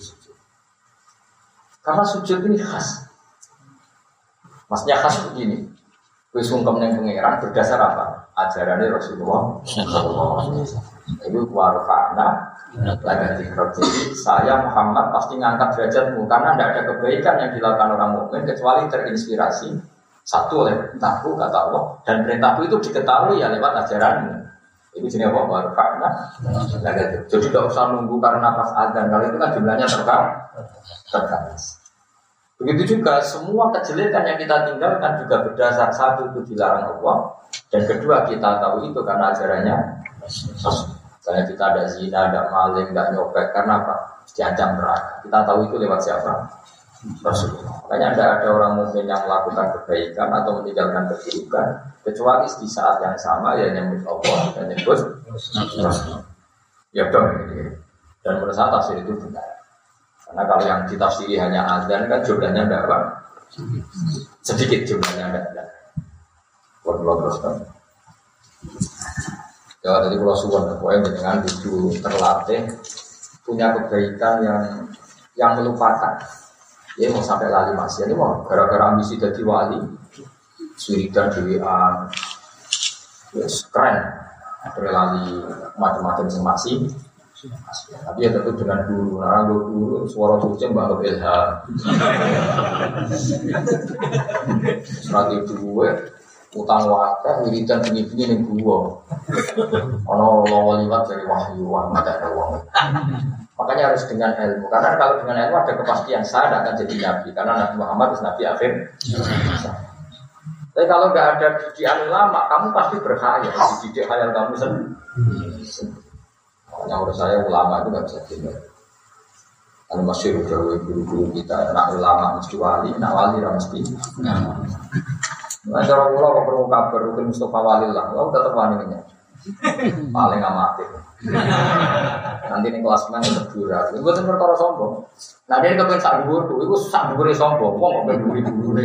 Karena sujud ini khas. Maksudnya khas begini. Wis sungkem ning pangeran berdasar apa? Ajarannya Rasulullah sallallahu alaihi wasallam. Itu warfa'na lagi jadi saya Muhammad pasti ngangkat derajatmu karena tidak ada kebaikan yang dilakukan orang mukmin kecuali terinspirasi satu oleh perintahku kata Allah dan perintahku itu diketahui ya lewat ajaranmu. Itu jenis apa? Warfa'na lagi jadi tidak usah nunggu karena pas adzan kalau itu kan jumlahnya terbatas. Begitu juga semua kejelekan yang kita tinggalkan juga berdasar satu itu dilarang Allah dan kedua kita tahu itu karena ajarannya Rasul. Misalnya kita ada zina, ada maling, ada nyopet, karena apa? Diancam neraka. Kita tahu itu lewat siapa? Rasulullah. Makanya ada orang mukmin yang melakukan kebaikan atau meninggalkan keburukan, kecuali di saat yang sama ya nyebut Allah dan nyebut Rasulullah. Ya dong. Dan menurut saya tafsir itu benar. Karena kalau yang ditafsiri hanya azan kan jumlahnya tidak apa? Sedikit jumlahnya tidak. Waduh terus. Ya, jadi kalau suwon, pokoknya dengan itu terlatih punya kebaikan yang melupakan. Ya mau sampai lali masih, ini mau gara-gara ambisi jadi wali, suridan dewan, yes, keren. Ada lali macam-macam masih. Tapi ya tentu dengan guru, orang guru suara kucing baru ilham. Strategi gue. Utang wakil, wiridan bunyi-bunyi ning gua. Ono lawan liwat dari wahyu, ada uang. Makanya harus dengan ilmu. Karena kalau dengan ilmu ada kepastian saya tidak akan jadi nabi. Karena Nabi Muhammad itu nabi akhir. Tapi kalau nggak ada didikan ulama, kamu pasti berkhayal. Dididik khayal kamu sendiri. Makanya menurut saya ulama itu nggak bisa tinggal. Kalau masih guru-guru kita, nak ulama mesti wali, nak wali mesti. Nah, cara pulau kok perlu kabar Rukun Mustafa Walillah, lo tetap waninya paling amatir. Nanti nih kelas main berdua, itu bukan perkara sombong. Nah dia kepengen sak dhuwur tuh, itu sak dhuwure sombong, wong kok berdua.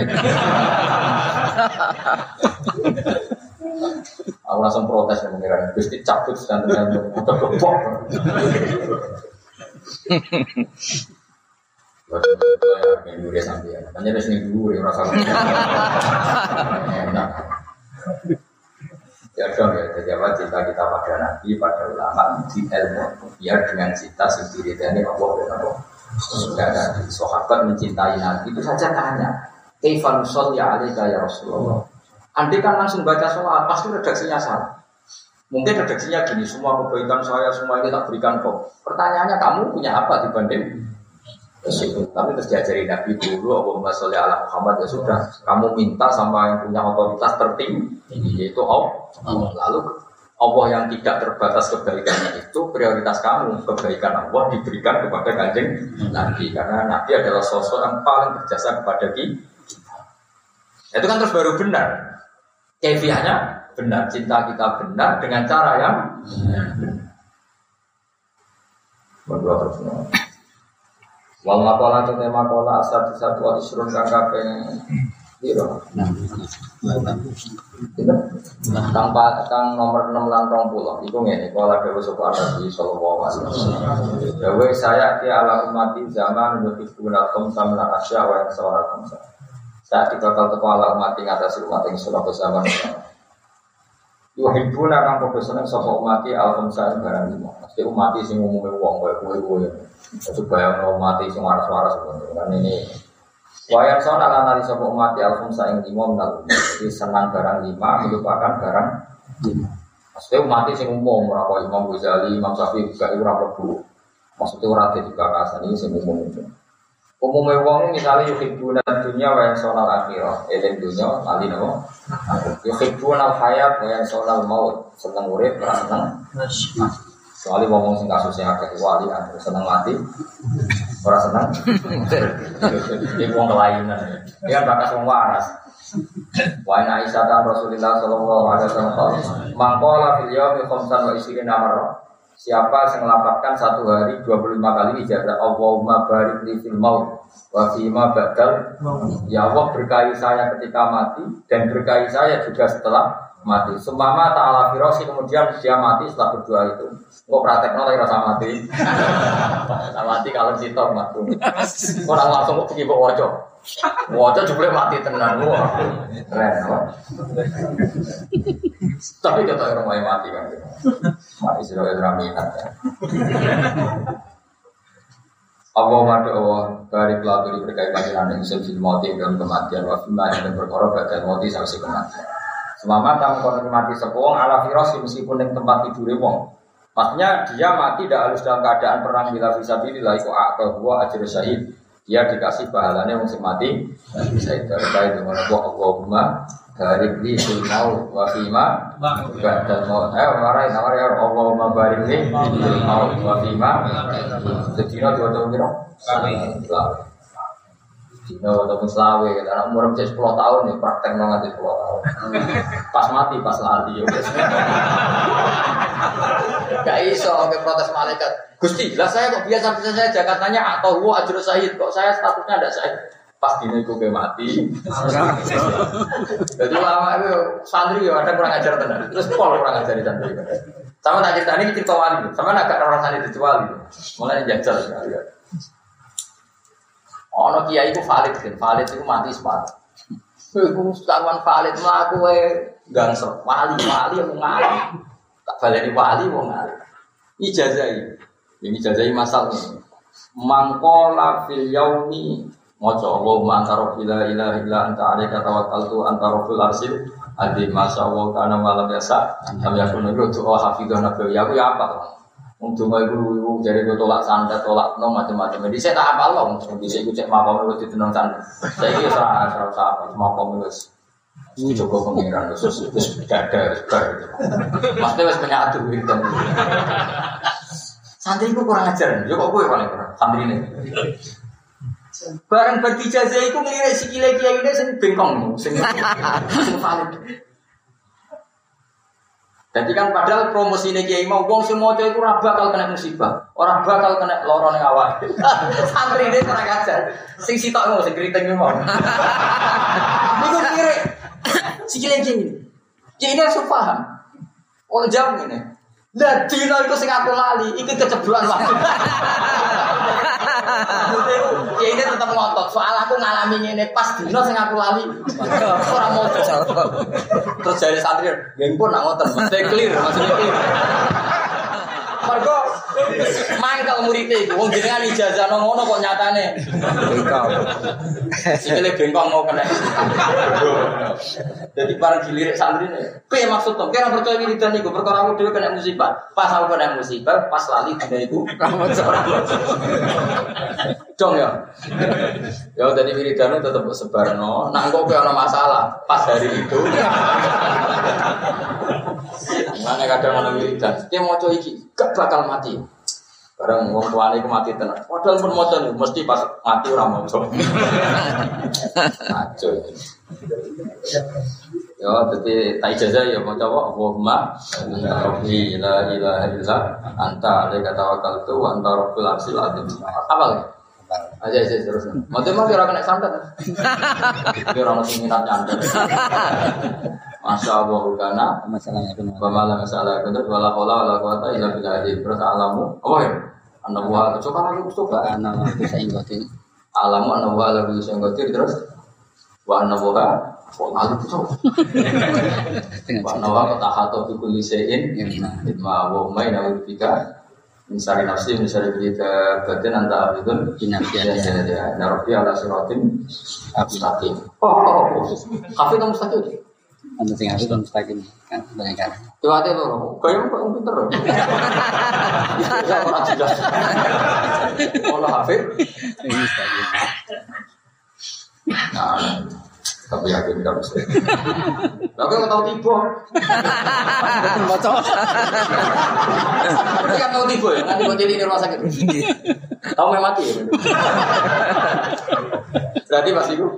Aku langsung protes ya mengira, Gusti cabut dan udah gebok. Minggu dia sampai ya, hanya ada seni dulu yang rasa enak. Ya dong ya, jadi apa cita kita pada nabi, pada ulama di ilmu, biar dengan cita sendiri dan Allah dan Allah. Sudah tadi sahabat mencintai nabi itu saja tanya, Kaifan sholli alaika ya Rasulullah. Andai kan langsung baca sholat, pasti redaksinya salah. Mungkin redaksinya gini, semua kebaikan saya, semua ini tak berikan kok. Pertanyaannya kamu punya apa dibanding itu? Tapi terus diajari Nabi dulu, Allahumma sholli ala Muhammad, ya sudah. Kamu minta sama yang punya otoritas tertinggi, yaitu Allah. Lalu Allah yang tidak terbatas kebaikannya itu prioritas kamu. Kebaikan Allah diberikan kepada Kanjeng Nabi. Karena Nabi adalah sosok yang paling berjasa kepada kita. Itu kan terus baru benar. Kefiahnya benar, cinta kita benar dengan cara yang berdua terus. Wal makola itu tema kola satu wal isrun kang kaping piro? Kang nomor 6 lan 20. Iku ngene, kola dewe sapa Nabi sallallahu alaihi wasallam. Dewe saya ki ala ummati zaman nutup gunakum samna asya wa sawarakum. Saat dibakal teko ala umat ing atas umat ing sulap zaman. Yuhibbuna kang padha seneng sapa umat al-khamsa barang lima. Mesti umat sing umume wong kowe. Itu bayang umat sing waras-waras kan ini. Wayang sona lan nali sapa umat al-khamsa ing lima menal. Jadi senang barang lima melupakan barang lima. Mesti umat sing umum ora kaya Imam Ghazali, Imam Syafi'i gak ora mlebu. Maksudnya ora dadi bakasan iki sing umum. Umumnya wong misalnya yuhibbuna dunya wa yansawna al-akhirah. Eling dunya lali napa? Yuhibbuna al-hayat wa yansawna al-maut. Seneng urip ora seneng. Soale wong sing kasusnya akeh wali seneng mati. Ora seneng. Iki wong kelainan. Ya bakas wong waras. Wa ana Aisyah Rasulullah sallallahu alaihi wasallam mangkola fil yaumi khamsan wa isrina marrah. Siapa yang melapatkan satu hari 25 kali ijazah Allahumma barik li fil maut wa fima badal. Ya Allah berkahi saya ketika mati dan berkahi saya juga setelah mati. Sumama ta'ala firasi, kemudian dia mati setelah berdoa itu. Kok praktekno lagi rasa mati. Rasa mati kalau sitok mati. Orang langsung kok pergi kok waca. Waca jebule mati tenan. Wah. Keren, apa? Tapi kata orang mau mati kan. Mati sudah minat. Allahumma doa barik laturi berkait panjenengan yang sebelum mati dalam kematian wafimah dan berkorban badan mati sampai kematian. Semama tamu konfirmasi sepuluh ala firas meskipun yang tempat tidur wong. Maksudnya dia mati tidak harus dalam keadaan perang bila fisabilillah iku akal huwa ajr syahid. Dia dikasih pahalanya wong sing mati bisa terkait dengan Allahumma barik li fil maut wa fima ba'dal maut. Marai Allahumma barik li fil maut wa fima. Sedina dua tahun kira. Dina dua tahun selawe. Anak umur 10 tahun nih praktek nganti 10 tahun. Pas mati pas lali. Gak iso ke protes malaikat. Gusti, lah saya kok biasa saja katanya atau gua ajrul syahid kok saya statusnya ada syahid. Pas dine iku ke mati. Jadi lama itu santri ya ada kurang ajar tenan. Terus pol kurang ajar di santri. Sama tak cerita ini cerita wali. Sama agak rasane dijual. Mulai jajal sekali. Ono kiai iku valid kan. Valid iku mati sepat. Iku kawan valid mlaku wae gangsel. Wali yang ngalih. Tak baleni wali wong ngalih. Ijazah. Ini ijazah masal nih. Mangkola fil yaumi maca Allahumma anta rabbil la ilaha illa anta alaika tawakkaltu anta rabbul arsyil azim masyaallah kana malam biasa kami yakun doa hafizan nabi ya aku ya apa untuk ibu jare tolak sandat tolak no macam-macam jadi saya tak apa loh di saya cek makom wis ditenang sandat saya iki ora apa makom wis Joko pengiran terus dada bar mesti wis menyatu gitu santri ku kurang ajar yo kok kowe paling kurang santrine bareng berdijazah iku ngelirik sikile kiai sing bengkong sing valid. Jadi kan padahal promosine kiai mau wong sing maca iku ora bakal kena musibah, ora bakal kena lara ning awak. Santrine ora ngajar. Sing sitok ngono sing kriting mau. Iku ngelirik sikile kiai. Kiai langsung paham. Oh jam ngene. Lah dina iku sing aku lali, iki keceblokan waktu. Ya ini tetap ngotot. Soal aku ngalami ngene pas dino sing aku lali. Ora moco. Terus jare santri, "Nggih pun nak ngoten, mesti clear maksudnya clear." Mergo Mangkel muridé iku wong jenengan ijazah nang ngono kok nyatane. Bengkok. Sikile bengkok mau kena. Jadi bareng dilirik santrine. Piye maksud to? Kira percaya wiridan iku perkara aku dhewe kena musibah. Pas aku kena musibah, pas lali dina iku dong ya. Ya tadi wiridan tetep sebarno. Nak kok ana masalah pas hari itu. Mana kadang ana wiridan. Ki maca iki gak bakal mati. Barang wong tuane iku mati tenan. Padahal pun maca mesti pas mati ora maca. Aco. Ya dadi ta ijazah ya maca wa Allahumma rabbi la ilaha illa anta alaika tawakkaltu wa anta rabbul arsyil azim. Apa aja terus. Maca mah ora kena santet. Ora ono sing minat nyantet. Masya Allah kana masalahnya itu. Masalah itu wala haula wala quwata illa billah. Terus alamu apa ya? Anawa coba lagi coba anawa bisa ingoti. Alamu anawa bisa ingoti terus wa anawa kok lalu coba. Wa anawa tahato bi kulli shay'in ma wa ma ina bika misari nafsi misari kita batin anta abidun ya rabbi ala siratin mustaqim. Kafe kamu mustaqim. Anda sing harus mustaqim kan banyak kan. Coba aja lo, kayak kok pinter. Ya ora jelas. Olah hafid. Mustaqim. Nah, tapi yakin enggak bisa. Lah kok tahu tiba. Maca. Berarti kan tahu tiba ya, nanti kok jadi di rumah sakit. Tahu memang mati ya. Berarti pas iku.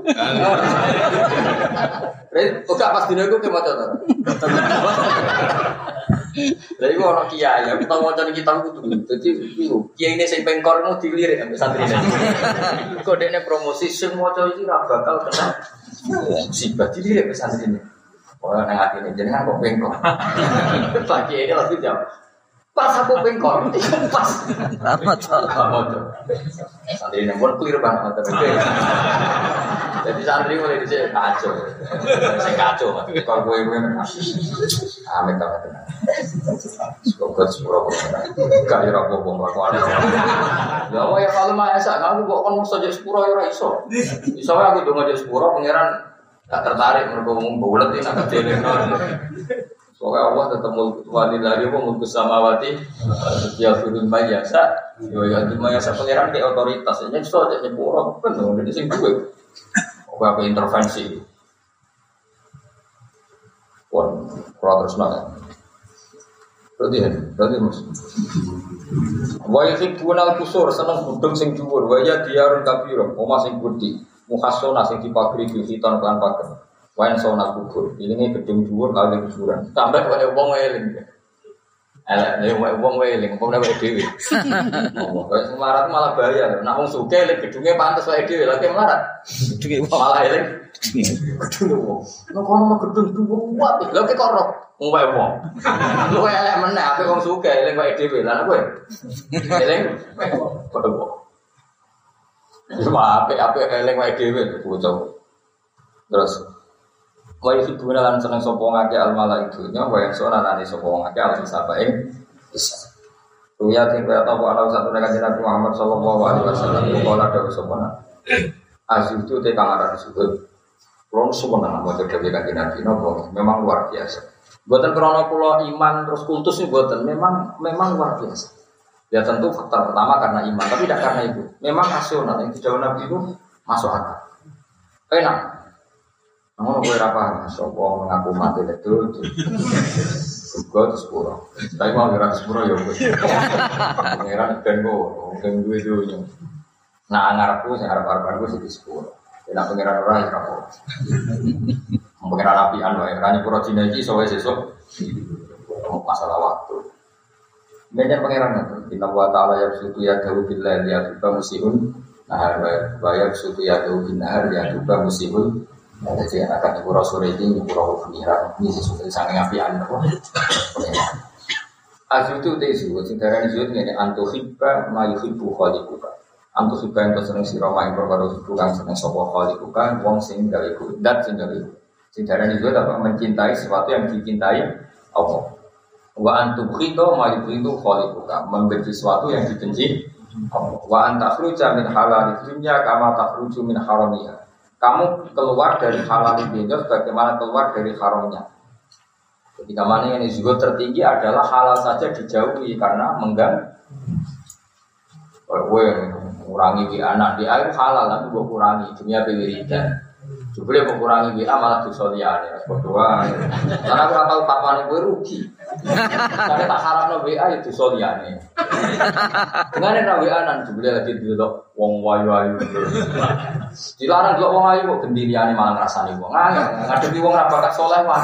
Oke pas dino iku ke maca to. Lha iku ono kiai, aku tau maca kitab kudu. Dadi iku kiai ini sing pengkormu dilirik ambek santrine. Kok dekne promosi sing maca iki ra bakal kena musibah dilirik ambek santrine. Ora nang atine jenengan kok pengkor. Pak kiai ini langsung jawab. Pas aku pengkor, itu pas. Maca. Santrine pun clear banget tapi. Jadi santri mulai dhisik kacau. Sing kacau, kok kowe amit banget. Kok sepuro kok. Gak ora apa-apa kelakuan. Ya wae kalau mah esak aku kok kon mesti jadi sepuro ya ora iso. Iso wae aku donga jadi sepuro pangeran gak tertarik mergo ngomong bulet iki nak deleno. Soalnya Allah tetap wali lagi mulku samawati ya firman mayasa. Yo ya mayasa pangeran ke otoritas. Yen iso jadi sepuro kan dadi sing duwe. Apa intervensi? Wah, terus nana. Berarti mus. Wahai sing bunal kusur seneng budung sing dhuwur, waya diarun kabiro, omah sing gede, mukhasona sing dipagri hitan kan pager. Wayan sona kubur, ini gedung dhuwur kali kuburan. Sampai wae wong eling. Elek wong eling, apa nek dhewe. Oh, kok melarat malah bahaya. Nek wong sugih lek gedunge pantes wae dhewe, lha melarat. Gedunge malah eling. Gedunge wong. Nek kono gedung dhuwur kuat, lha kok ora wong wae wong. Lu elek meneh ape wong sugih eling wae dhewe, lha kowe. Eling padha wong. Cuma ape eling wae dhewe bocah. Terus wa yuhibbuna lan seneng sapa ngake al malaikatunya wa yansuna lan sapa ngake al sabae bisa. Ruya ting kaya ta ana satu nek Nabi Muhammad sallallahu alaihi wasallam kala dawuh sapa na. Azizu te kang aran sujud. Kulon suwun nang maca dhewe kanjeng Nabi napa memang luar biasa. Mboten krana kula iman terus kultus niku mboten, memang luar biasa. Ya tentu faktor pertama karena iman, tapi tidak karena itu. Memang rasional yang didhawuh Nabi itu masuk akal. Enak. Ngono kowe ora paham, sapa mengaku mati itu. Juga sepuro. Tapi mau ora sepuro ya wis. Pangeran ben kok wong duwe dunya. Nah ngarepku sing arep-arepan ku sing sepuro. Nek pangeran ora ya ora. Pangeran apian wae, ora nyepuro dina iki iso wae sesuk. Masalah waktu. Banyak pangeran itu. Inna wa ta'ala yabsutu yadahu billahi yatuba musihun. Nah, bayar sutu yadahu binnahar yatuba musihun. Jadi akan ibu rasul ini ibu rasul pengiran ini sesuatu sangat apian apa? Asyik itu tesu, cintaran itu ini antuhibba mayuhibbu khaliquka. Antuhibba yang tersenang sirama yang berbaru bukan senang sopo khaliquka, wong sing galiku, dat sing galiku. Cintaran itu apa? Mencintai sesuatu yang dicintai Allah. Wa antubghito ma yughito khaliquka, membenci sesuatu yang dibenci. Wa antakhruja min halal dunya kama takhruju min haramiha. Kamu keluar dari halal dunya sebagaimana keluar dari haramnya. Ketika mana yang juga tertinggi adalah halal saja dijauhi karena mengganggu. Kurangi anak di air halal nanti gue kurangi dunia pewiridan. Jubli mengurangi WA malah dosa liyane. Berdoa. Karena aku tahu papane kowe rugi. Karena tak harapno WA itu dosa liyane. Dengane ra WA nan jubli lagi delok wong wayu-wayu. Dilarang delok wong ayu kok gendiriane malah ngrasani wong. Ngadepi wong ra bakat saleh wae.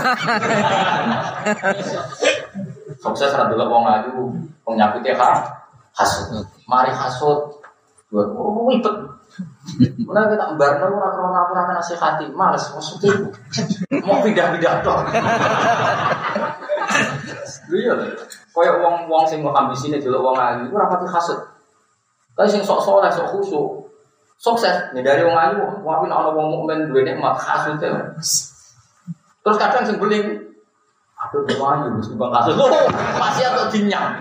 Sukses ra delok wong ayu, wong nyakute hasud. Mari hasud. Ribet. Mulai kita bareng orang orang nasihati, males maksudnya mau pindah-pindah dong. Iya, kayak wong sing mau ambisine delok wong ayu, ora pati hasud. Tapi sing sok saleh, sok khusyuk, sukses nih dari wong ayu, wae nek ana wong mukmin duwe nikmat hasud. Terus kadang sing beling, aduh wong ayu wis bang hasud. Masih atau dinyang.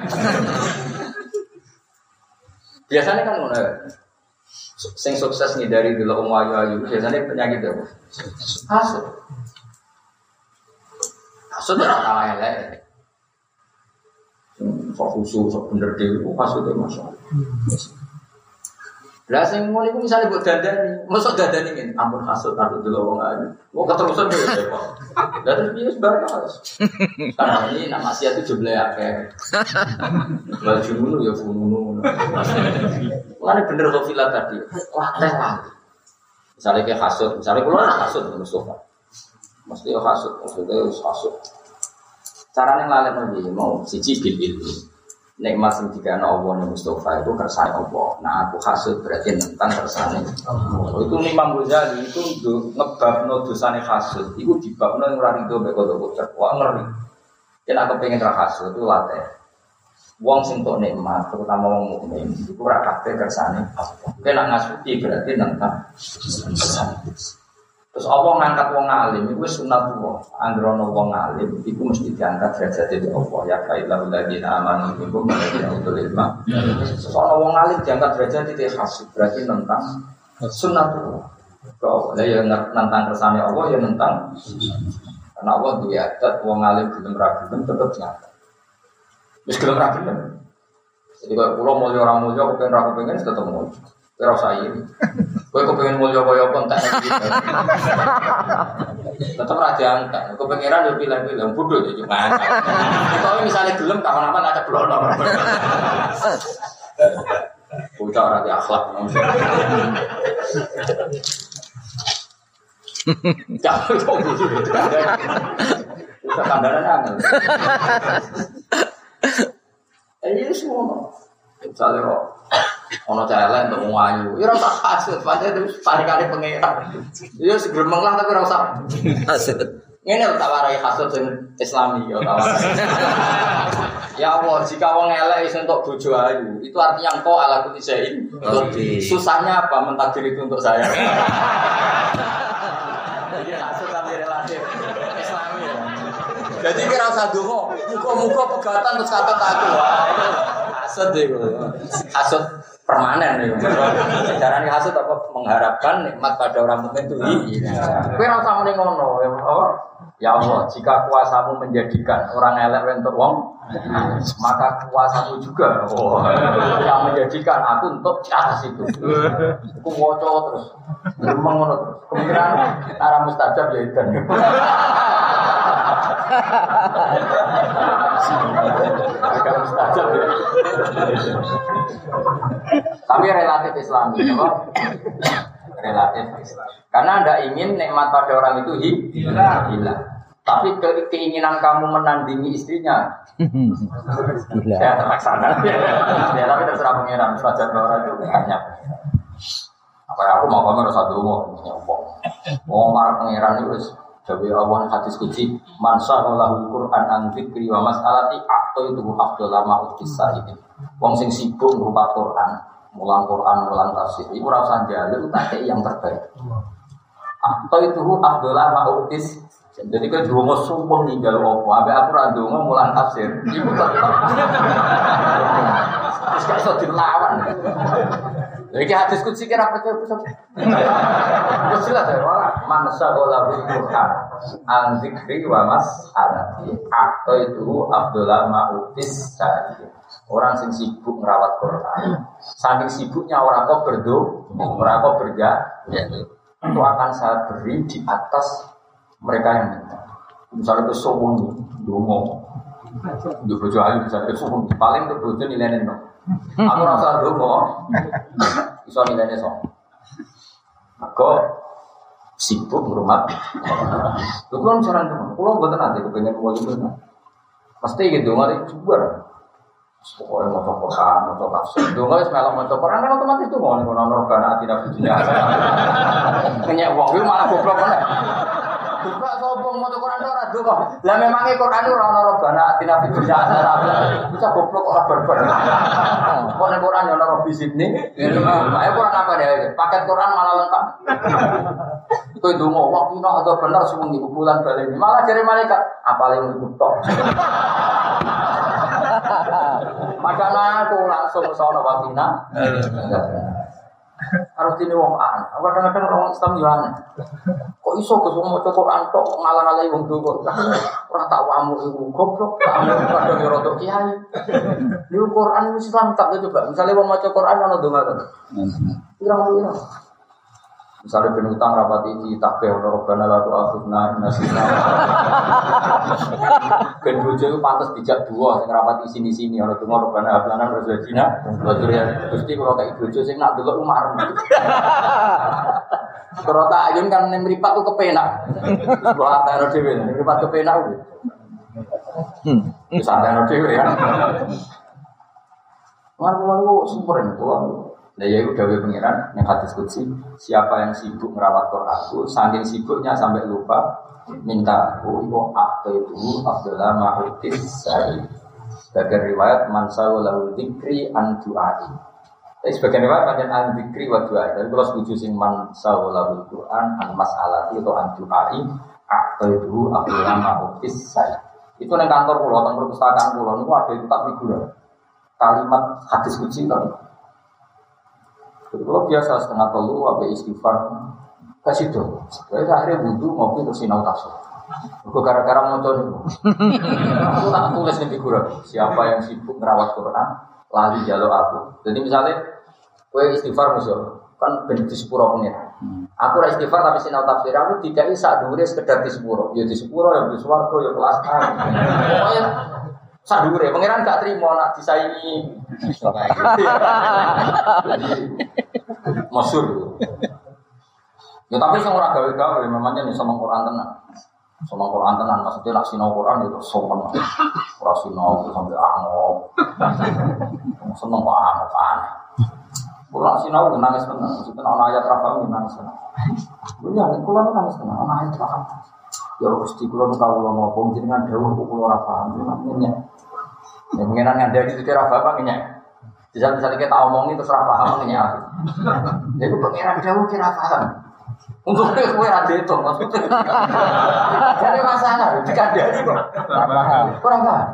Biasanya kan ngono. Sing sukses nih dari dulu ayu biasanya penyakit apa? Hasud. Hasud ora kalah elek. Sok khusyuk, sok bener dhewe hasud e masyaallah. Lah sing ngono iku misale mbok dandani, mosok dandani ngene, ampun hasud aku dulu wong ayu. Wong keterusan yo repot. Lah terus piye sebarang harus. Karena ini nak maksiat itu jumlah akeh. Lah jumunu ya fununu. Mulane bener kok filah tadi. Wah, teh lah. Misale ke hasud, misale kula hasud Mustafa. Mesti yo hasud, maksudnya hasud. Carane ngalem iki mau siji bil ilmu. Nikmat sing dikana Allah ning Mustafa itu kersane Allah. Nah aku hasud berarti tentang kersane Allah. Itu Imam Ghazali itu ngebabno dosane hasud. Iku dibabno ora rido mek kok wah ngeri. Yen aku pengen ra hasud itu latih. Wong sing tok nikmat terutama wong mukmin iku ora kabeh kersane Allah. Nek ngasuti berarti tentang kersane. Terus Allah ngangkat wong alim iku wis sunatullah. Anggrono wong alim iku mesti diangkat derajate Allah ya kailal ladina amanu minkum wa utul ilma. Soal wong alim diangkat derajate hasud berarti tentang sunatullah. Kok ya nentang kersane Allah ya nentang. Karena Allah duwe adat wong alim gelem ra gelem tetep diangkat. Wis gelem ra gelem. Jadi kalau kula mulya ora mulya kepen ra kepengen tetep mulya. Ora usah iri. Kowe kepengen mulya kaya apa entek iki. Tetep ra diangkat. Kepengeran yo pilih-pilih bodho yo cuma. Kalau misalnya gelem kapan-kapan ada blono. Bocah ora di akhlak. Jangan kok gitu. Kandaran angel. Ini semua. Misalnya kok ono celek untuk wong ayu. Ya ora usah hasud, pancen parikane pangeran. Ya segremeng lah tapi ora usah hasud. Ngene lho tak warai hasud sing Islami ya ta. Ya Allah, jika wong elek iso entuk bojo ayu, itu artinya engkau ala kulli syai'in. Susahnya apa mentakdir itu untuk saya? Jadi hasud kan relatif Islami ya. Jadi kira usah donga, muga-muga pegatan terus kata aku. Hasud itu. Hasud permanen nih. Carane hasud apa mengharapkan nikmat pada orang mukmin itu. Kowe ora usah muni ngono ya. Ya Allah, jika kuasamu menjadikan orang elek untuk wong, maka kuasamu juga yang menjadikan aku untuk atas itu. Aku waca terus. Memang ngono terus. Kemungkinan arah mustajab ya edan. Agak mustajab ya. Tapi relatif Islami, apa? Relatif Islam. Karena Anda ingin nikmat pada orang itu hilang. Tapi keinginan kamu menandingi istrinya, ya terlaksana. Ya tapi terserah pengiran. Saja orang itu banyak. Apa aku mau kamu harus satu mau nyopong. Mau marah pengiran itu. Jadi Allah hadis kunci mansa Allahu Quran an dzikri wa mas'alati aqto itu afdal lama ukisah ini. Wong sing sibuk ngrupat Quran, mulang tafsir. Iku ora usah njaluk tak yang terbaik. Aqto itu afdal lama ukis. Jadi kan donga sumpah ninggal opo, ape aku ra donga mulang tafsir. Iku tetep. Wis gak iso dilawan. Iki hadis kutsi kira percaya pusat. Wis jelas ya, man sa'ala bil Qur'an an dzikri wa mas'alati. Atau itu Abdullah Ma'utis tadi. Orang sing sibuk ngerawat Quran. Saking sibuknya orang kok orang kok itu akan saya beri di atas mereka yang minta. Misalnya ke sombong dongo, di bojo ayu misalnya ke sombong paling ke bojo nilainya no. Aku rasa dongo, bisa nilainya so. Aku sibuk berumah. Lu kan cara dongo, kalau betul nanti kepengen mau itu, pasti gitu nggak juga. Pokoknya mau cokokan, mau cokak. Dulu nggak semalam mau cokokan kan otomatis tuh mau nih nonor karena tidak punya. Kenyak uang itu malah goblok mana? Buka sobong mau cokokan orang dulu. Lah memang Quran itu nonor karena tidak punya. Bisa goblok orang berber. Kau nih Quran nonor bisik nih. Ayo Quran apa deh? Paket Quran malah lengkap. Kau itu mau waktu nak atau benar semua di bulan balik ini malah cari malaikat. Apalagi ngutok. Padahal aku langsung sono wakina. Harus ini wong an. Kadang-kadang orang Islam juga. Kok iso ke semua Quran tok ngalah-ngalahi wong tuwa. Ora tak wamu iku goblok. Kadang yo rodok kiai. Di Quran Islam tak coba. Misalnya wong maca Quran ono donga to. Pirang-pirang. Misalnya ben utang rapati iki takbih ono robana la tu'akhidna nasina. Ben bojo iku pantes dijak dua sing rapati sini-sini ono donga robana hablana rozajina. Wadurian Gusti kula kaya bojo sing nak delok umar. Kalau tak ayun kan mripat ku kepenak. Buat ana dhewe mripat kepenak kuwi. Wis ana dhewe ya. Lalu sumber kula. Nah ya udah pengiran yang hadis qudsi siapa yang sibuk merawat Quranku saking sibuknya sampai lupa minta aku itu Abdullah Ma'utis Sa'id sebagai riwayat mansawu lahu dzikri an du'ai. Tapi sebagai riwayat macam an dzikri wa du'ai. Tapi kalau setuju sing mansawu lahu Quran an mas'alati atau an du'ai itu Abdullah Ma'utis Sa'id. Itu nang kantor kula, nang perpustakaan kula niku ada kitab figura. Kalimat hadis qudsi kan. Kalau biasa setengah telu, apa istighfar, kasih tuh. Jadi akhirnya butuh ngopi terus sinau tasawuf. Aku gara-gara mau coba. Aku tak tulis di figura. Siapa yang sibuk merawat Quran, lali jalur aku. Jadi misalnya, kue istighfar musuh, kan benci sepuro pengen. Aku rak istighfar tapi sinau tafsir. Aku tidak bisa dure sekedar di sepuro. Ya di sepuro, ya di suwargo, ya kelas A. Pokoknya sadure, pangeran gak terima nak disaingi. Masyhur. Ya tapi sing ora gawe-gawe memangnya nih sama Quran tenan. Sama Quran tenan maksudnya nak sinau Quran itu sopan. Ora sinau sampai angop. Seneng banget kan. Quran sinau nangis tenan. Maksudnya ana ayat ra paham nangis tenan. Ya nek kula nangis tenan ana ayat ra paham. Ya Gusti kula kawula ngomong jenengan dawuh kula ora paham. Namanya ya pengenan ngandani itu ra paham ngenyek. Misalnya kita omongin terus ra paham ngenyek. Jadi pengenan dawuh kira paham. Untuk itu gue ada itu maksudnya. Jadi masalah dikandani kok. Kurang paham.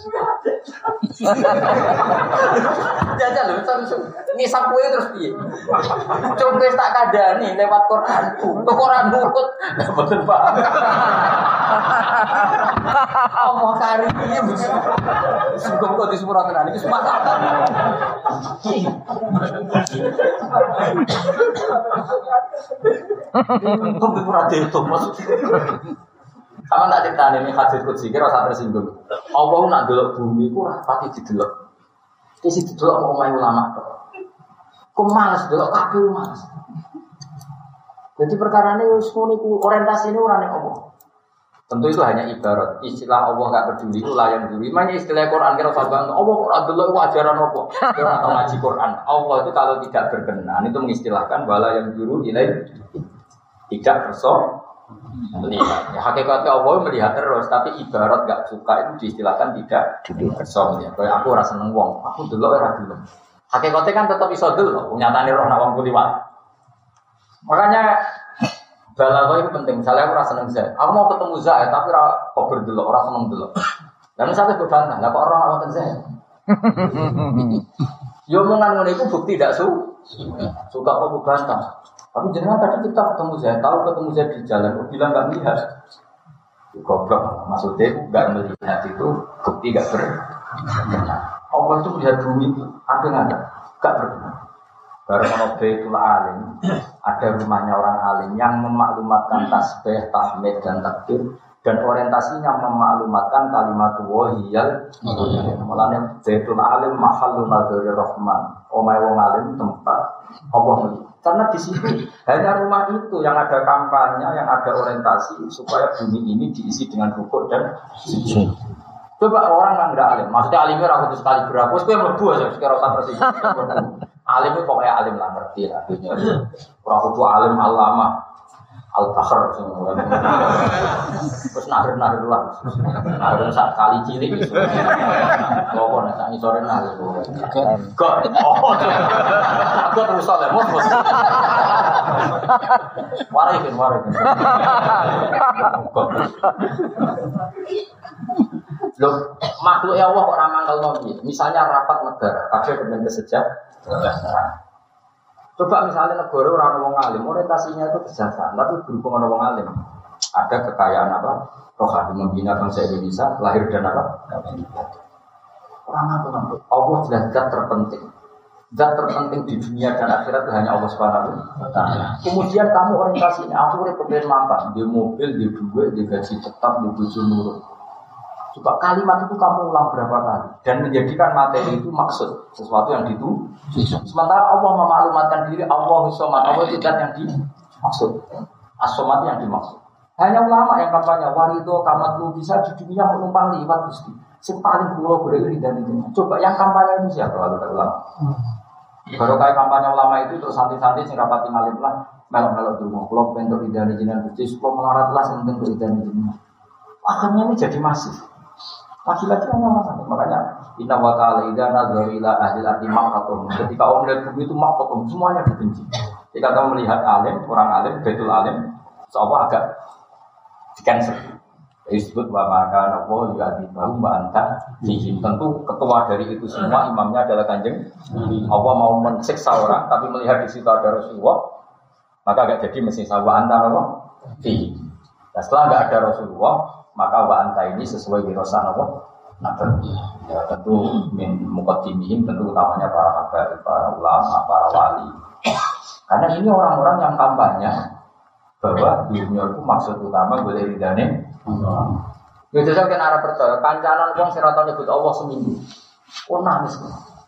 Jajal lho ngisap kue terus piye? Coba tak kandani lewat Quranku. Quran nurut mboten paham. Allah karimnya bisa. Sugeng kok disepuro tenan iki semua. Untung di purade itu maksudnya. Sama tak cerita ini hadis qudsi kira rasa tersinggung. Allah nak delok bumi ku ora pati didelok. Iki didelok mau main ulama tok. Ku males delok kabeh males. Jadi perkara ini wis niku orientasine ora ning apa. Tentu itu hanya ibarat. Istilah Allah enggak peduli itu layan dulu. Mana istilah Quran kira sabang Allah ora delok ajaran apa. Ora tau ngaji Quran. Allah itu kalau tidak berkenan itu mengistilahkan wala yang dulu ilai tidak berso melihat. Ya, hakikatnya Allah melihat terus, tapi ibarat gak suka itu diistilahkan tidak berso melihat. Kayak aku rasa seneng wong, aku delok ora gelem. Hakikatnya kan tetap iso delok, nyatane roh nak wong kuliwat. Makanya Balaghah itu penting. Misalnya aku rasa seneng Zaid. Aku mau ketemu Zaid tapi kok berdelok, ora seneng delok. Lah misalnya gue bantah, lah kok orang awak Zaid. Yo omongan ngono iku bukti tidak suka kok bantah. Tapi jenengan tadi kita ketemu Zaid, tahu ketemu Zaid di jalan, kok bilang enggak melihat. Goblok, maksudnya enggak melihat itu bukti enggak benar. Allah itu melihat bumi, ada enggak? Enggak benar. Baru ono Baitul Alim, ada rumahnya orang alim yang memaklumatkan tasbih, tahmid dan takbir dan orientasinya memaklumatkan kalimat wahiyal. Mulane Baitul Alim mahallun nadzari rahman. Omahe wong alim tempat Allah. Karena di situ hanya rumah itu yang ada kampanye, yang ada orientasi supaya bumi ini diisi dengan rukuk dan sujud. Coba orang yang tidak alim, maksudnya alimnya ragu sekali berapa, supaya melebu aja, sekarang usah bersih. Alim itu pokoknya alim lah, ngerti lah. Orang itu alim alama, al-bakhar semua. Terus nahir lah, nahir saat kali cilik itu. Kau nak sangi sore nahir. God, God terus salah, mus. Warikin. Loh, makhluk Allah kok ora mangkel nopi. Misalnya rapat negara, kabeh kepen kesejahteraan. Coba misalnya negara ora ono wong alim, orientasinya itu kesejahteraan, tapi berhubung ono wong alim. Ada kekayaan apa? Rohani membina bangsa Indonesia, lahir dan apa? Orang mangkel. Allah jelas zat terpenting. Zat terpenting di dunia dan akhirat itu hanya Allah Subhanahu wa taala. Kemudian kamu orientasinya aku urip pengen makan, di mobil, di duit, di gaji tetap, di bojo nurut. Coba kalimat itu kamu ulang berapa kali dan menjadikan materi itu maksud sesuatu yang dituju. Sementara Allah memaklumatkan diri Allah As-Samad, Allah tidak yang dimaksud. As-Samad yang dimaksud. Hanya ulama yang kampanye warido kamat lu bisa di dunia menumpang liwat Gusti. Sing paling kula beri dan ini. Coba yang kampanye itu siapa kalau ada ulama? Baru kayak kampanye ulama itu terus santai-santai sing rapati ngalim lah melok-melok dulu. Kula bentuk idane jenengan Gusti, kula melarat lah sing penting kok idane jenengan. Akhirnya ini jadi masif. Lagi-lagi orang makanya inna wa ta'ala idza nazara ila ahli al-ardi maqatum. Ketika orang melihat bumi itu maqatum, semuanya dibenci. Ketika kamu melihat alim, orang alim, Baitul Alim, seolah agak di-cancel. Disebut wa maka Allah yu'adibahu wa anta fihi. Tentu ketua dari itu semua imamnya adalah Kanjeng. Allah mau mensiksa orang tapi melihat di situ ada Rasulullah, maka agak jadi mesti sawa anta apa? Fihi. Nah, setelah enggak ada Rasulullah, maka wa anta ini sesuai wirosan apa? Nabi. Ya tentu min muqaddimihim, tentu utamanya para habaib, para ulama, para wali. Karena ini orang-orang yang kampanye bahwa dunia itu maksud utama boleh ridane. Ya jajal kan arah percaya kancanan wong sing ora tau nyebut Allah seminggu. Oh nangis.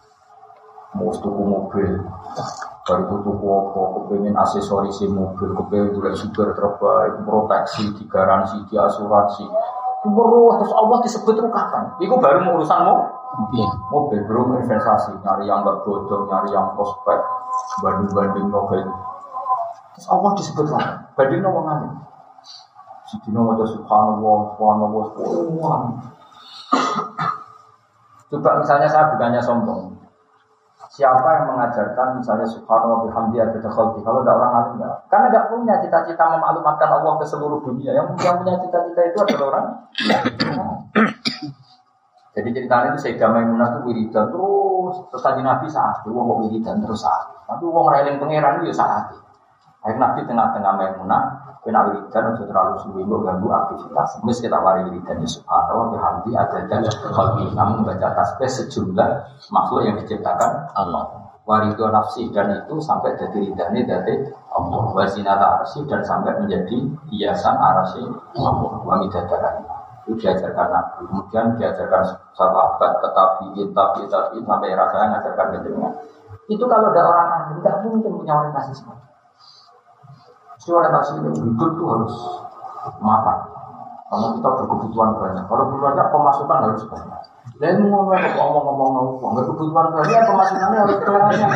Mau tuku mobil. Baru tuku apa, kepengen aksesoris mobil, kepengen juga super terbaik, proteksi, digaransi, diasuransi. Terus Allah disebut itu kapan? Itu baru urusanmu mobil, belum investasi, nyari yang gak bodong, nyari yang prospek, banding-banding mobil. Terus Allah disebut kapan? Banding no mengalir. Sidina wajah subhanallah. Coba misalnya saya bukannya sombong. Siapa yang mengajarkan misalnya subhanallah bihamdi adada khalqi kalau ada orang alim enggak? Karena enggak punya cita-cita memaklumatkan Allah ke seluruh dunia. Yang punya cita-cita itu adalah orang. Jadi ceritanya itu Sayyidah Maimunah itu wiridan terus tadi Nabi saat itu wong wiridan terus saat. Tapi wong railing pangeran itu ya saat. Akhirnya Nabi tengah-tengah Maimunah kena wiridan untuk terlalu suwi ganggu aktivitas. Mesti kita wari wiridan subhanallah bihamdi adada khalqi. Namun baca tasbih sejumlah makhluk yang diciptakan Allah. Warido nafsi dan itu sampai jadi ridhani dari Allah. Wazinata arsy dan sampai menjadi hiasan arsy Allah. Wamidadaran itu diajarkan Nabi. Kemudian diajarkan sahabat, tetapi sampai rasanya mengajarkan kejenengan. Itu kalau ada orang ahli tidak mungkin punya orientasi seperti itu. Orientasi hidup itu harus makan. Karena kita berkebutuhan banyak. Kalau banyak pemasukan harus banyak. Dan ngomong-ngomong nggak kebutuhan banyak, pemasukannya harus banyak.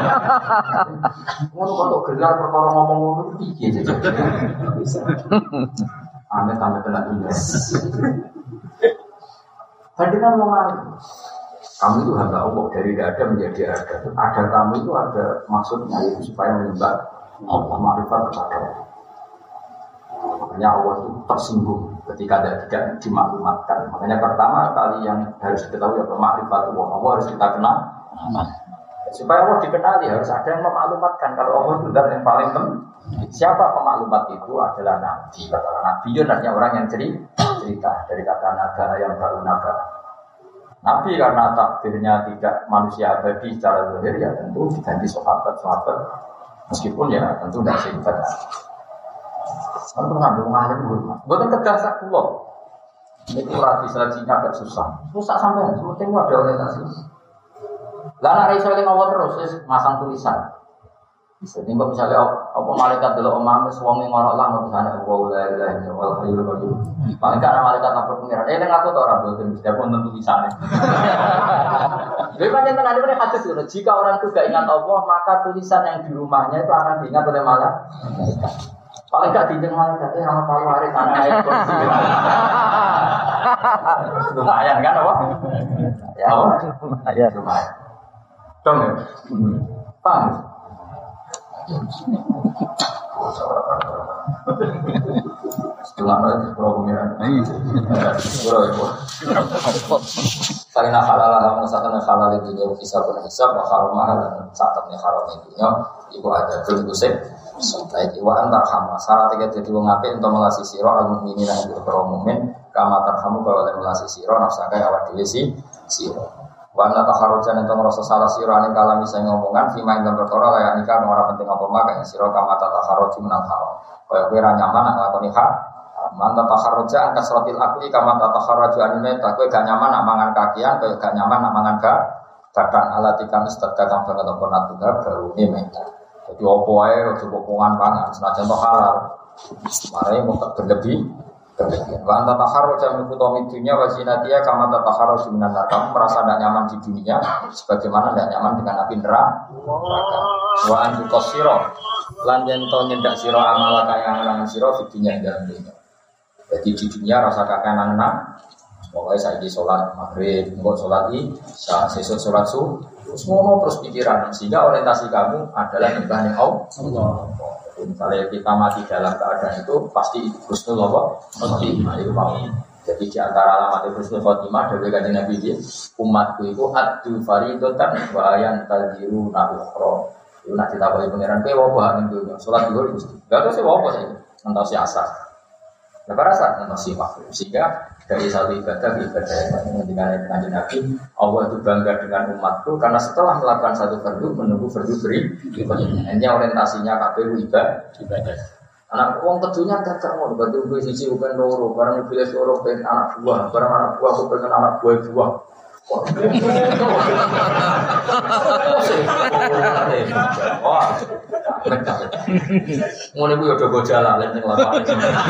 Kalau gelar perkara ngomong-ngomong itu tinggi saja. Aneh-aneh kena dunia. Bandingkan ngomong kamu itu hamba Allah dari tidak ada menjadi ada. Ada kamu itu ada maksudnya itu supaya menyembah Allah, makrifat kepada Allah. Artinya Allah itu tersinggung ketika tidak dimaklumatkan. Makanya pertama kali yang harus diketahui adalah ma'rifatullah. Allah harus kita kenal. Supaya Allah dikenali harus ada yang memaklumatkan. Kalau Allah itu zat yang paling penting. Siapa pemaklumat itu adalah Nabi. Kata Nabi itu artinya orang yang cerita dari kata naga yang baru naga. Nabi karena takdirnya tidak manusia abadi secara zahir ya tentu diganti sahabat. Meskipun ya tentu tidak singkat. Kan pernah dong ngalim dulu. Bukan kegasak pulau. Ini kurang disajinya agak susah. Susah sampai penting ada orientasi. Lah nek iso eling Allah terus masang tulisan. Jadi kok misalnya apa malaikat delok omah wis wong ngorok lah tulisane wa la ilaha illallah hayyul qayyum. Paling kan malaikat lapor pengiran. Nek aku to ora boten mesti aku nonton tulisane. Lha pancen ada pada hadis itu jika orang itu gak ingat Allah maka tulisan yang di rumahnya itu akan diingat oleh malaikat. Paling gak diingat malaikat sama palu waris anak itu. Lumayan kan apa? Ya, ya lumayan. Dong ya? Paham? Setelah itu sepuluh pengiran. Sepuluh itu. Karena halal lah, misalkan halal itu dia bisa berhisab, halal mahal dan saatnya halal itu ibu ada terusik. Baik, ibu antar hama. Salah tiga jadi mengapa untuk melasi siro al-mukminin yang berkeromumin kama tarhamu kalau oleh melasi siro nafsakai awal dilisi siro. Wana taharujan itu merasa salah siro ane kalami saya ngomongan fima yang berkora layak nikah orang penting apa makanya siro kama taharuji menang haram. Kaya kira nyaman nak lakoni hak. Manta taharuja angkat suratil akli kama taharuju anime tak kue gak nyaman nak mangan kakian kaya gak nyaman nak mangan badan alatikam istadgakam banget apa natuga baru ini menta. Jadi opo ae ojo pokongan pangan senajan to halal. Mare mau berlebih. Wa anta taharruja min khutami dunya wa zinatia kama taharruju minan nar. Kamu merasa tidak nyaman di dunia sebagaimana tidak nyaman dengan api neraka. Wa antu qasira lan yen to nyendak sira amala kaya nang sira di dunia dalam dunia. Jadi di dunia rasa kakenan-kenan. Pokoke saiki salat maghrib, engko salat isya, sesuk salat subuh. Terus ngono terus pikiran sehingga orientasi kamu adalah nyembah Allah. Misalnya kita mati dalam keadaan itu pasti husnul khotimah itu paham. Jadi di antara alamat husnul khotimah dari kanjeng Nabi ini umatku itu adu faridatan wa ayan tadiru nabukhro. Itu nak ditakoki pangeran kowe apa hak ning dunya salat zuhur Gusti. Enggak tahu sih apa sih ngantos asar. Lepas asar ngantos makhluk sehingga dari satu ibadah ke ibadah yang lain dengan kanjeng Nabi Allah itu bangga dengan umatku karena setelah melakukan satu fardu menunggu fardu berikutnya. Hanya orientasinya kabeh ibadah. Anak wong kedunya gak mau bantu gue siji bukan loro barang pilih loro pengen anak buah barang anak buah aku pengen anak buah. Wah, ngono iku yo do gojala lan ning lapangan.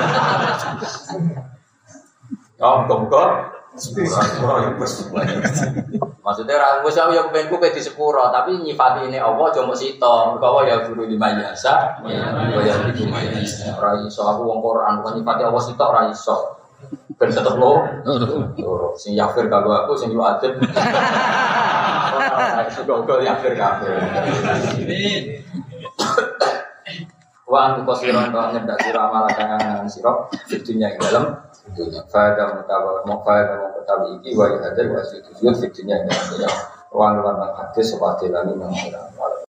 Muga-muga sepura ya wis. Maksudnya ra wis aku ya kepenku pe di sepura, tapi nyifati ini Allah aja mok sito. Mergo Allah ya guru lima biasa. Ya iki ora iso aku wong Quran kok nyifati Allah sito ora iso. Ben tetep lo. Sing yafir kanggo aku sing yo adem. Gol yafir kabeh. Wa antu kosiron to nyedak sira malakan sira fitunya ing dalem dunya faedah mutawa faedah mutawi iki wa hadir wa situjud fitunya ing dalem dunya wa lan hadis wa dilani nang